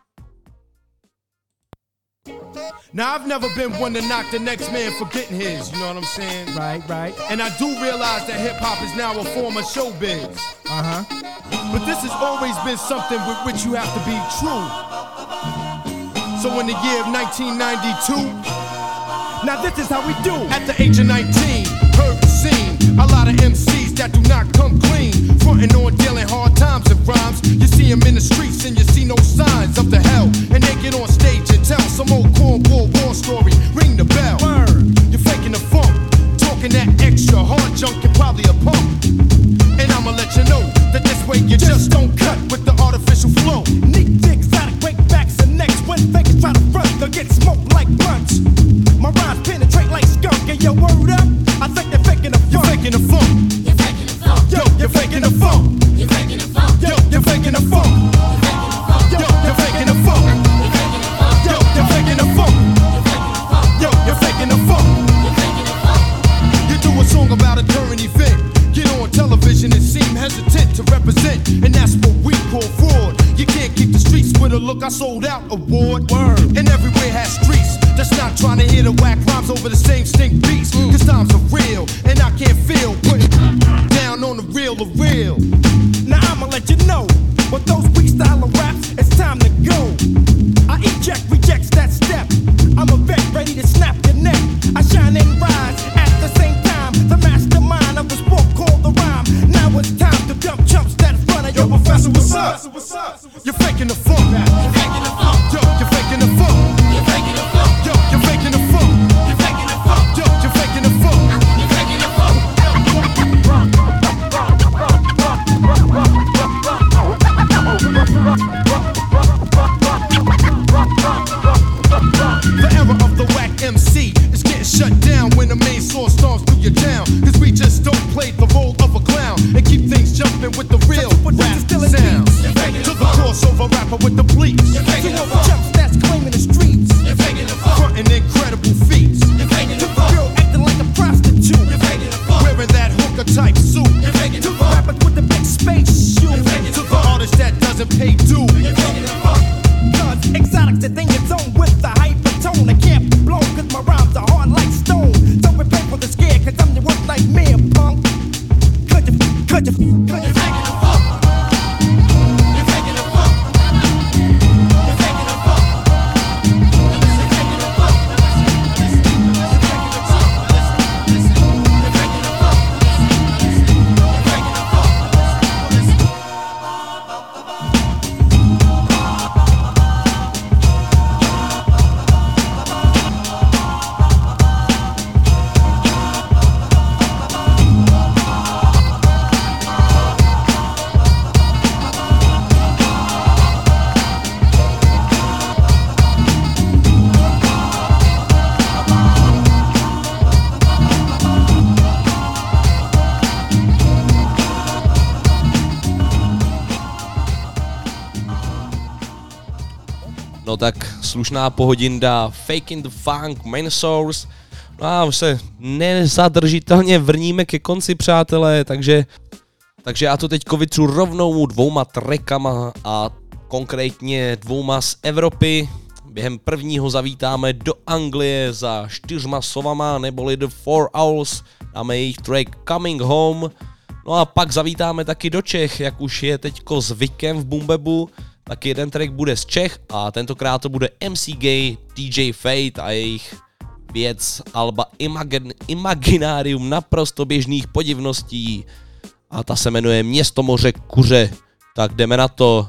Now, I've never been one to knock the next man for getting his, you know what I'm saying? Right, right. And I do realize that hip-hop is now a form of showbiz. Uh-huh. But this has always been something with which you have to be true. So in the year of nineteen ninety-two, now this is how we do. At the age of nineteen, heard the scene, a lot of M Cs that do not come clean. Frontin' on dealing hard times and rhymes. You see them in the streets and you see no signs of the hell. And they get on stage and tell some old cornball war story. Ring the bell. Word. You're faking the funk. Talking that extra hard junk, you're probably a punk. And I'ma let you know that this way you just don't cut with the artificial flow. Neat dicks, exotic breakbacks and necks. When fakers try to front, they'll get smoked like blunts. My rhymes penetrate like skunk. And your word up, I think they're faking the funk. You're faking the funk. You're faking the funk. Yo, you're faking the funk. You're faking the funk. Yo, you're faking the funk. Yo, you're faking the funk. Yo, you're faking the funk. Yo, you're faking the funk. You do a song about a current event. Get on television and seem hesitant to represent, and that's what we call fraud. You can't keep the streets with a look I sold out award. Word. And everywhere has streets that's not trying to hear the whack rhymes over the same stink beats. Mm. Cause times are real, and I can't feel putting down on the real of real. Now I'ma let you know, with those weak style of raps, it's time to go. I eject, rejects that step. I'm a vet ready to snap your neck. I shine and rise at the same time. The mastermind of the sport called the rhyme. Now it's time to dump chumps that front of your professor. What's up? You're faking the funk. You're faking the funk. Yo, you're faking the funk. You're faking the funk. Yo, you're faking the funk. You're faking the funk. Yo, you're faking the funk. You're faking the funk. The era of the whack M C is getting shut down when the main source storms through your town. Cause we just don't play the role of a clown and keep things jumping with the real rap sound. To the crossover rapper with the bleeps. To all the chumps that's claiming the streets. Frontin' incredible feats. To the girl acting like a prostitute. Wearing that hooker type suit. To the rappers with the big space shoes. To the artist that doesn't pay due. Cause exotics that think it's on with the hypertone. I can't be blown cause my rhymes are hard like stone. Don't prepare for the scare cause I'm the worst nightmare, punk. Could you, could you, could you take it the fuck? You're taking the fuck. You're taking the fuck. You're taking the fuck. No tak slušná pohodinda, Faking the Funk, Main Source. No a už se nezadržitelně vrníme ke konci, přátelé, takže, takže já to teďko vytřu rovnou dvouma trackama a konkrétně dvouma z Evropy. Během prvního zavítáme do Anglie za čtyřma sovama, neboli The Four Owls, dáme jejich track Coming Home. No a pak zavítáme taky do Čech, jak už je teďko zvykem v Boom Bapu. Tak jeden track bude z Čech a tentokrát to bude M C Gay, D J Fate a jejich věc alba Imagin- Imaginarium naprosto běžných podivností a ta se jmenuje Město moře kuře. Tak jdeme na to.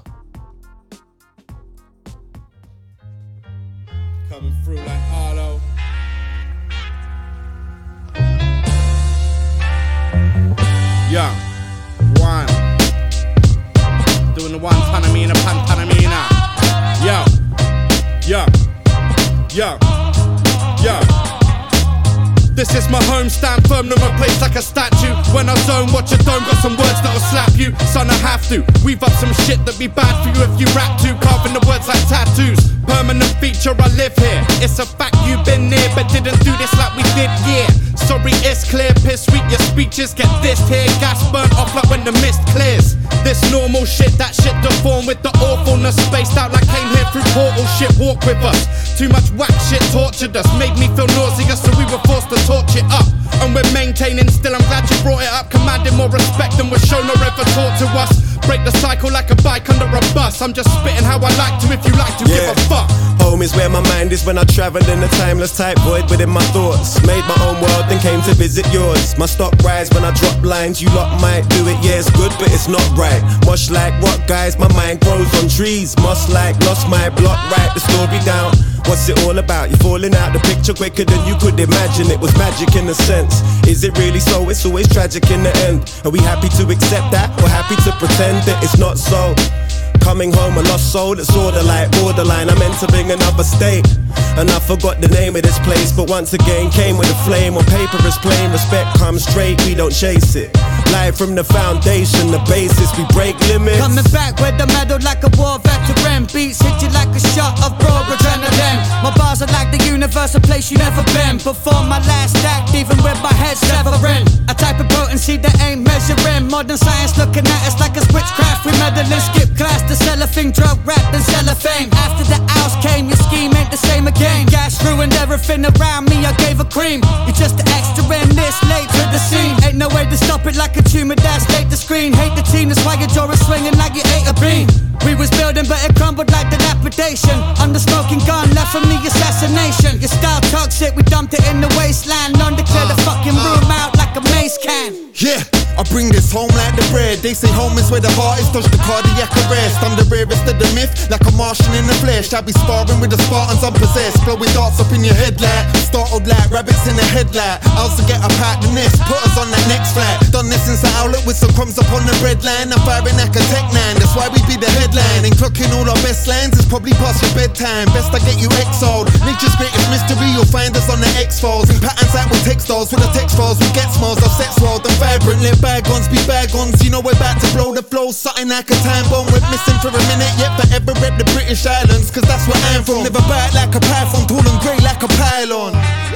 home, stand firm to my place like a statue. When I zone, watch your dome, got some words that'll slap you. Son, I have to weave up some shit that'd be bad for you if you rap to. Carving the words like tattoos. Permanent feature, I live here. It's a fact you've been near, but didn't do this like we did, yeah. Sorry, it's clear, piss sweet, your speeches get this here. Gas burnt off like when the mist clears. This normal shit, that shit deformed with the awfulness. Spaced out like came here through portal shit, walk with us. Too much whack shit tortured us, made me feel nauseous, so we were forced to torch it up. And we're maintaining still, I'm glad you brought it up. Commanding more respect than was shown or ever taught to us. Break the cycle like a bike under a bus. I'm just spitting how I like to, if you like to, yeah. Give a fuck. Home is where my mind is when I travel in a timeless type void within my thoughts. Made my own world, then came to visit yours. My stock rise when I drop lines. You lot might do it, yeah, it's good, but it's not right. Much like what, guys? My mind grows on trees. Must like lost my block, write the story down. What's it all about? You're falling out the picture quicker than you could imagine. It was magic in a sense. Is it really so? It's always tragic in the end. Are we happy to accept that, or happy to pretend that it's not so? Coming home a lost soul that's order like borderline. I'm entering another state, and I forgot the name of this place, but once again came with a flame. On paper is plain, respect comes straight, we don't chase it. Live from the foundation, the basis, we break limits. Coming back with the medal like a war veteran. Beats hit you like a shot of raw adrenaline. My bars are like the universe, a place you never been. Before my last act, even with my head severing. A type of potency that ain't measuring. Modern science looking at us like it's witchcraft. We meddling, skip class to sell a thing, drug rap and sell a fame. After the hours came, your scheme ain't the same again. Gas ruined everything around me, I gave a cream. You just the extra in this late to the scene. Ain't no way to stop it like a tumor that's late to screen. Hate the team, that's why your jaw is swinging like you ate a bean. We was building but it crumbled like dilapidation. On the smoking gun left from the assassination. Your style toxic, we dumped it in the wasteland. Under clear the fucking room out like a mace can. Yeah, I bring this home like the bread. They say home is where the heart is, touch the cardiac arrest. I'm the rarest of the myth, like a Martian in the flesh. I be sparring with the Spartans unpossessed. Blowing darts up in your head like startled like rabbits in the headlight. I also get up out the nest, put us on that next flight. Done this since the outlet with some crumbs up on the bread line. I'm firing like a tech nine, that's why we be the headline. And clocking all our best lines is probably past your bedtime. Best I get you exiled. Nature's greatest mystery, you'll find us on the X-Files. And patterns that with textiles, with the text files we get smiles of sex world and vibrant. Let bygones be bygones, you know we're about to blow the flow. Something like a time bomb, we're missing for a minute. Yet forever rep the British Islands, cause that's where I'm from. Live a bite like a python, tall and grey like a pylon.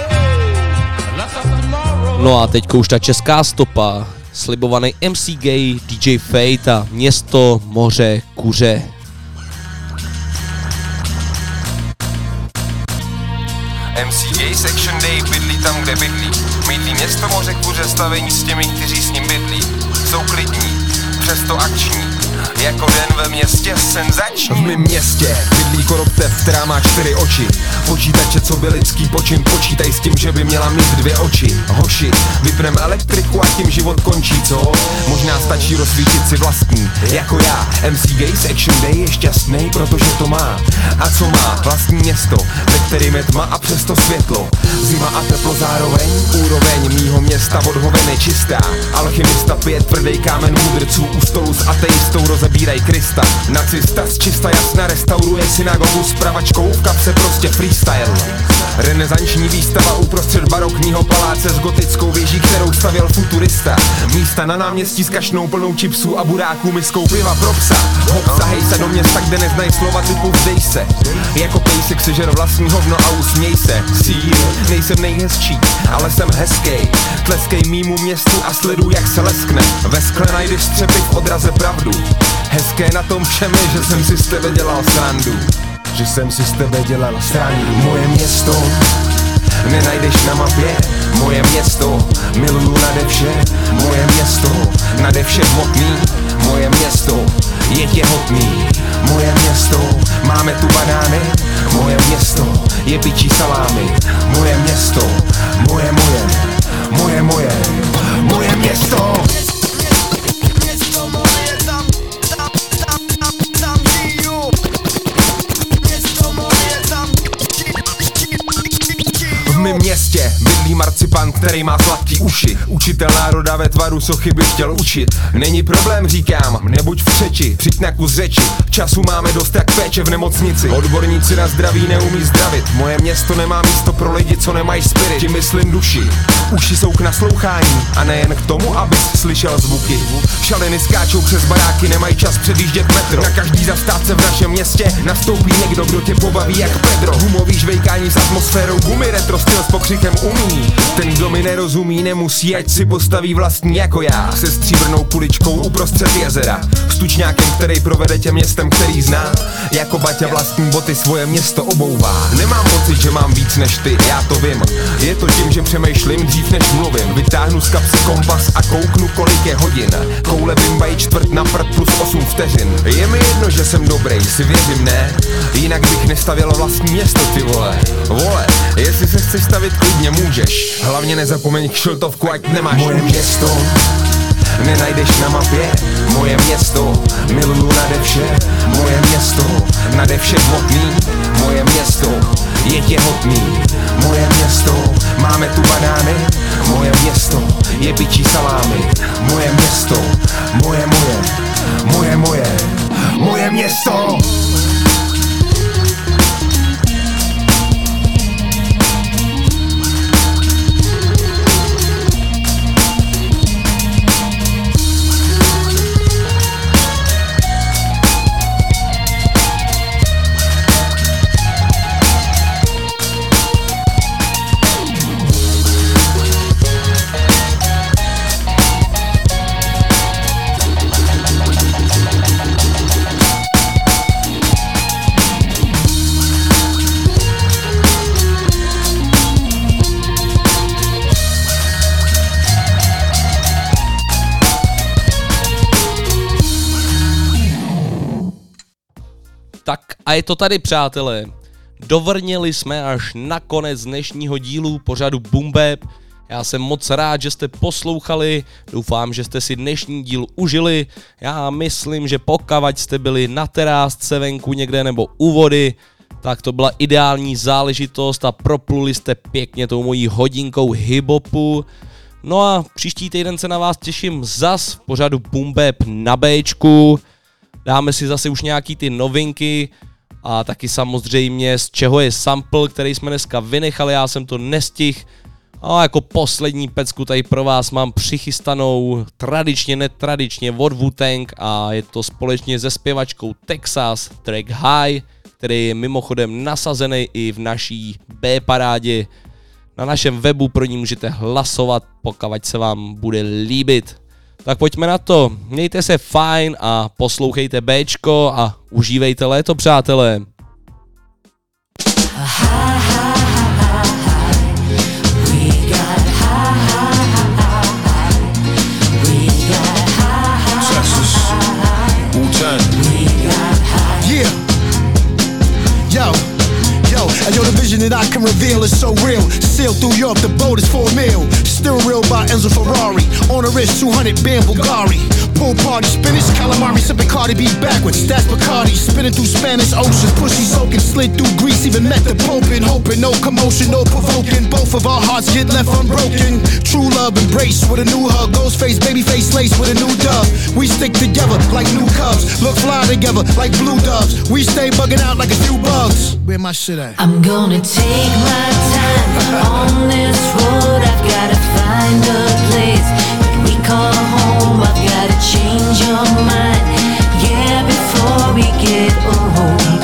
No a teďko už ta česká stopa. Slibovaný M C Gay, D J Fate a Město, moře, kuře. M C Gay Section Day bydlí tam, kde bydlí. Mýtlí město, moře, kuře, stavení s těmi, kteří s ním bydlí. Jsou klidní, přesto akční. Jako den ve městě senzační. V mém městě bydlí koroptev, která má čtyři oči. Počítače, co by lidský počin, počítaj s tím, že by měla mít dvě oči. Hoši, vypnem elektriku a tím život končí, co? Možná stačí rozsvítit si vlastní, jako já. M C Gay Section Day je šťastný, protože to má. A co má? Vlastní město, ve kterým je tma a přesto světlo. Zima a teplo zároveň, úroveň mýho města od hovin je čistá. Alchymista pije tvrdý kámen mudrců, u stolu s ateistou rozebíraj Krista. Nacista z čista jasna restauruje synagogu s pravačkou v kapse, prostě freestyle. Renesanční výstava uprostřed barokního paláce s gotickou věží, kterou stavěl futurista. Místa na náměstí s kašnou plnou čipsů a buráků miskou piva pro psa. Hop, zahej se do města, kde neznají slova typu vzdej se. Jako pejsek sežer vlastní hovno a usměj se. Síl, nejsem nejhezčí, ale jsem hezkej. Tleskej mýmu městu a sleduj, jak se leskne. Ve skle najdeš střepy v odraze pravdu. Hezké na tom všem je, že jsem si z tebe dělal srandu. Že jsem si z tebe dělal srandu. Moje město nenajdeš na mapě. Moje město miluju nade vše. Moje město nade vše hmotný. Moje město je těhotný. Moje město máme tu banány. Moje město je bičí salámy. Moje město, moje, moje, moje, moje, moje město. V mém městě bydlí marcipant, který má sladký uši. Učitel národa ve tvaru sochy by chtěl učit. Není problém, říkám, nebuď v křeči, přijď na kus řeči. Času máme dost jak péče v nemocnici. Odborníci na zdraví neumí zdravit. Moje město nemá místo pro lidi, co nemají spirit. Tím myslím duši. Uši jsou k naslouchání a nejen k tomu, abys slyšel zvuky. Šaliny skáčou přes baráky, nemají čas předjíždět metro. Na každý zastávce v našem městě nastoupí někdo, kdo tě pobaví jak Pedro. Gumový žvejkání s atmosférou gumy, retro styl s pokřikem umí. Ten, kdo mi nerozumí, nemusí, ať si postaví vlastní jako já. Se stříbrnou kuličkou uprostřed jezera, s tučňákem, který provede tě městem, který zná. Jako Baťa vlastní boty svoje město obouvá. Nemám pocit, že mám víc než ty, já to vím. Je to tím, že přemýšlím dřív než mluvím. Vytáhnu z kapsy kompas a kouknu, kolik je hodin. Koule bimbají čtvrt na prd plus osm vteřin. Je mi jedno, že jsem dobrý, si věřím, ne? Jinak bych nestavěl vlastní město, ty vole. Vole, jestli se chceš stavit, klidně můžeš. Hlavně nezapomeň kšiltovku, ať nemáš. Moje město nenajdeš na mapě. Moje město miluju nade vše. Moje město nade vše hmotný. Moje město je těhotný. Moje město máme tu banány. Moje město je bičí salámy. Moje město, moje, moje, moje, moje, moje město. Tak a je to tady, přátelé. Dovrněli jsme až na konec dnešního dílu pořadu Boom Bap. Já jsem moc rád, že jste poslouchali, doufám, že jste si dnešní díl užili. Já myslím, že pokud jste byli na terásce venku někde nebo u vody, tak to byla ideální záležitost a propluli jste pěkně tou mojí hodinkou hip-hopu. No a příští týden se na vás těším zas v pořadu Boom Bap na Bčku. Dáme si zase už nějaký ty novinky a taky samozřejmě z čeho je sample, který jsme dneska vynechali, já jsem to nestihl. A jako poslední pecku tady pro vás mám přichystanou tradičně, netradičně od Wu-Tang a je to společně se zpěvačkou Texas, track High, který je mimochodem nasazený i v naší B-parádě. Na našem webu pro ní můžete hlasovat, pokud se vám bude líbit. Tak pojďme na to, mějte se fajn a poslouchejte Bčko a užívejte léto, přátelé. Yeah. Yo. Yo, yo, the vision that I can reveal is so real. Sail through Europe, the boat is for a meal. Steering wheel by Enzo Ferrari. On the wrist, two hundred band Bulgari. Pool party, spinach, calamari, sipping Cardi B backwards. That's Bacardi, spinning through Spanish oceans. Pussy soaking, slid through Greece, even met the Pope and hoping. No commotion, no provoking. Both of our hearts get left unbroken. True love embrace with a new hug. Ghost face, baby face lace with a new dove. We stick together like new cubs. Look fly together like blue doves. We stay bugging out like a few bugs. Where my shit at? I'm gonna take my time on this road. I've gotta find a place that we call home. I've gotta change your mind, yeah, before we get old.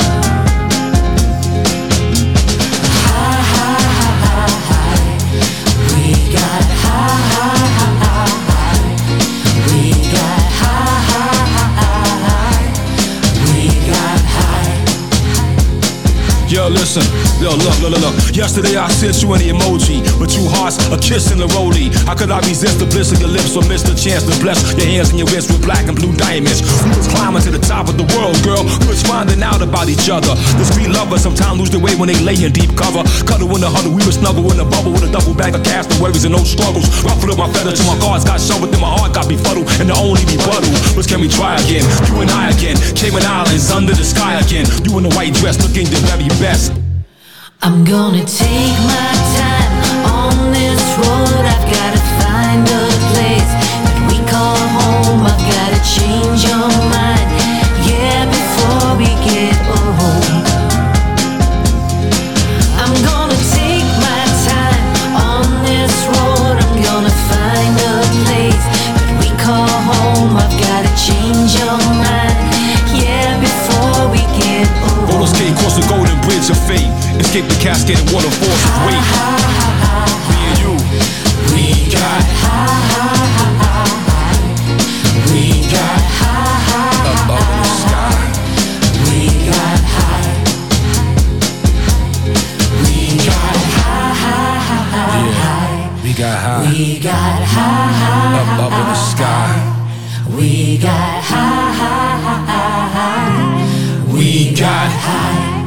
High, high, high, high. We got high, high, high, high. We got high, high, high, high. We got high. Yo, listen. Yo, look, look, look, look. Yesterday I sent you an emoji, but two hearts, a kiss and a rollie. How could I resist the bliss of your lips or miss the chance to bless your hands and your wrists with black and blue diamonds? We was climbing to the top of the world, girl. We was finding out about each other. The street lovers sometimes lose their way when they lay in deep cover. Cuddle in the huddle, we were snuggle in the bubble with a double bag of cash, no worries and no struggles. Ruffled up my feather till my cards got shut within my heart got befuddled. And the only rebuttal was, can we try again? You and I again, Cayman Islands under the sky again. You in the white dress looking the very best. I'm gonna take my time on this road I've gotta find a place that we call home. I've gotta change your mind, yeah, before we get home. I'm gonna take my time on this road. I'm gonna find a place that we call home. I've gotta change your mind, yeah, before we get home. Roller skate across the golden bridge of fate. Escape the cascaded waterfalls of weight. Me and you, we got we got up up in the sky. We got high. We got high. Yeah, we got high. We got high. Up up in the sky. We got high. We got high.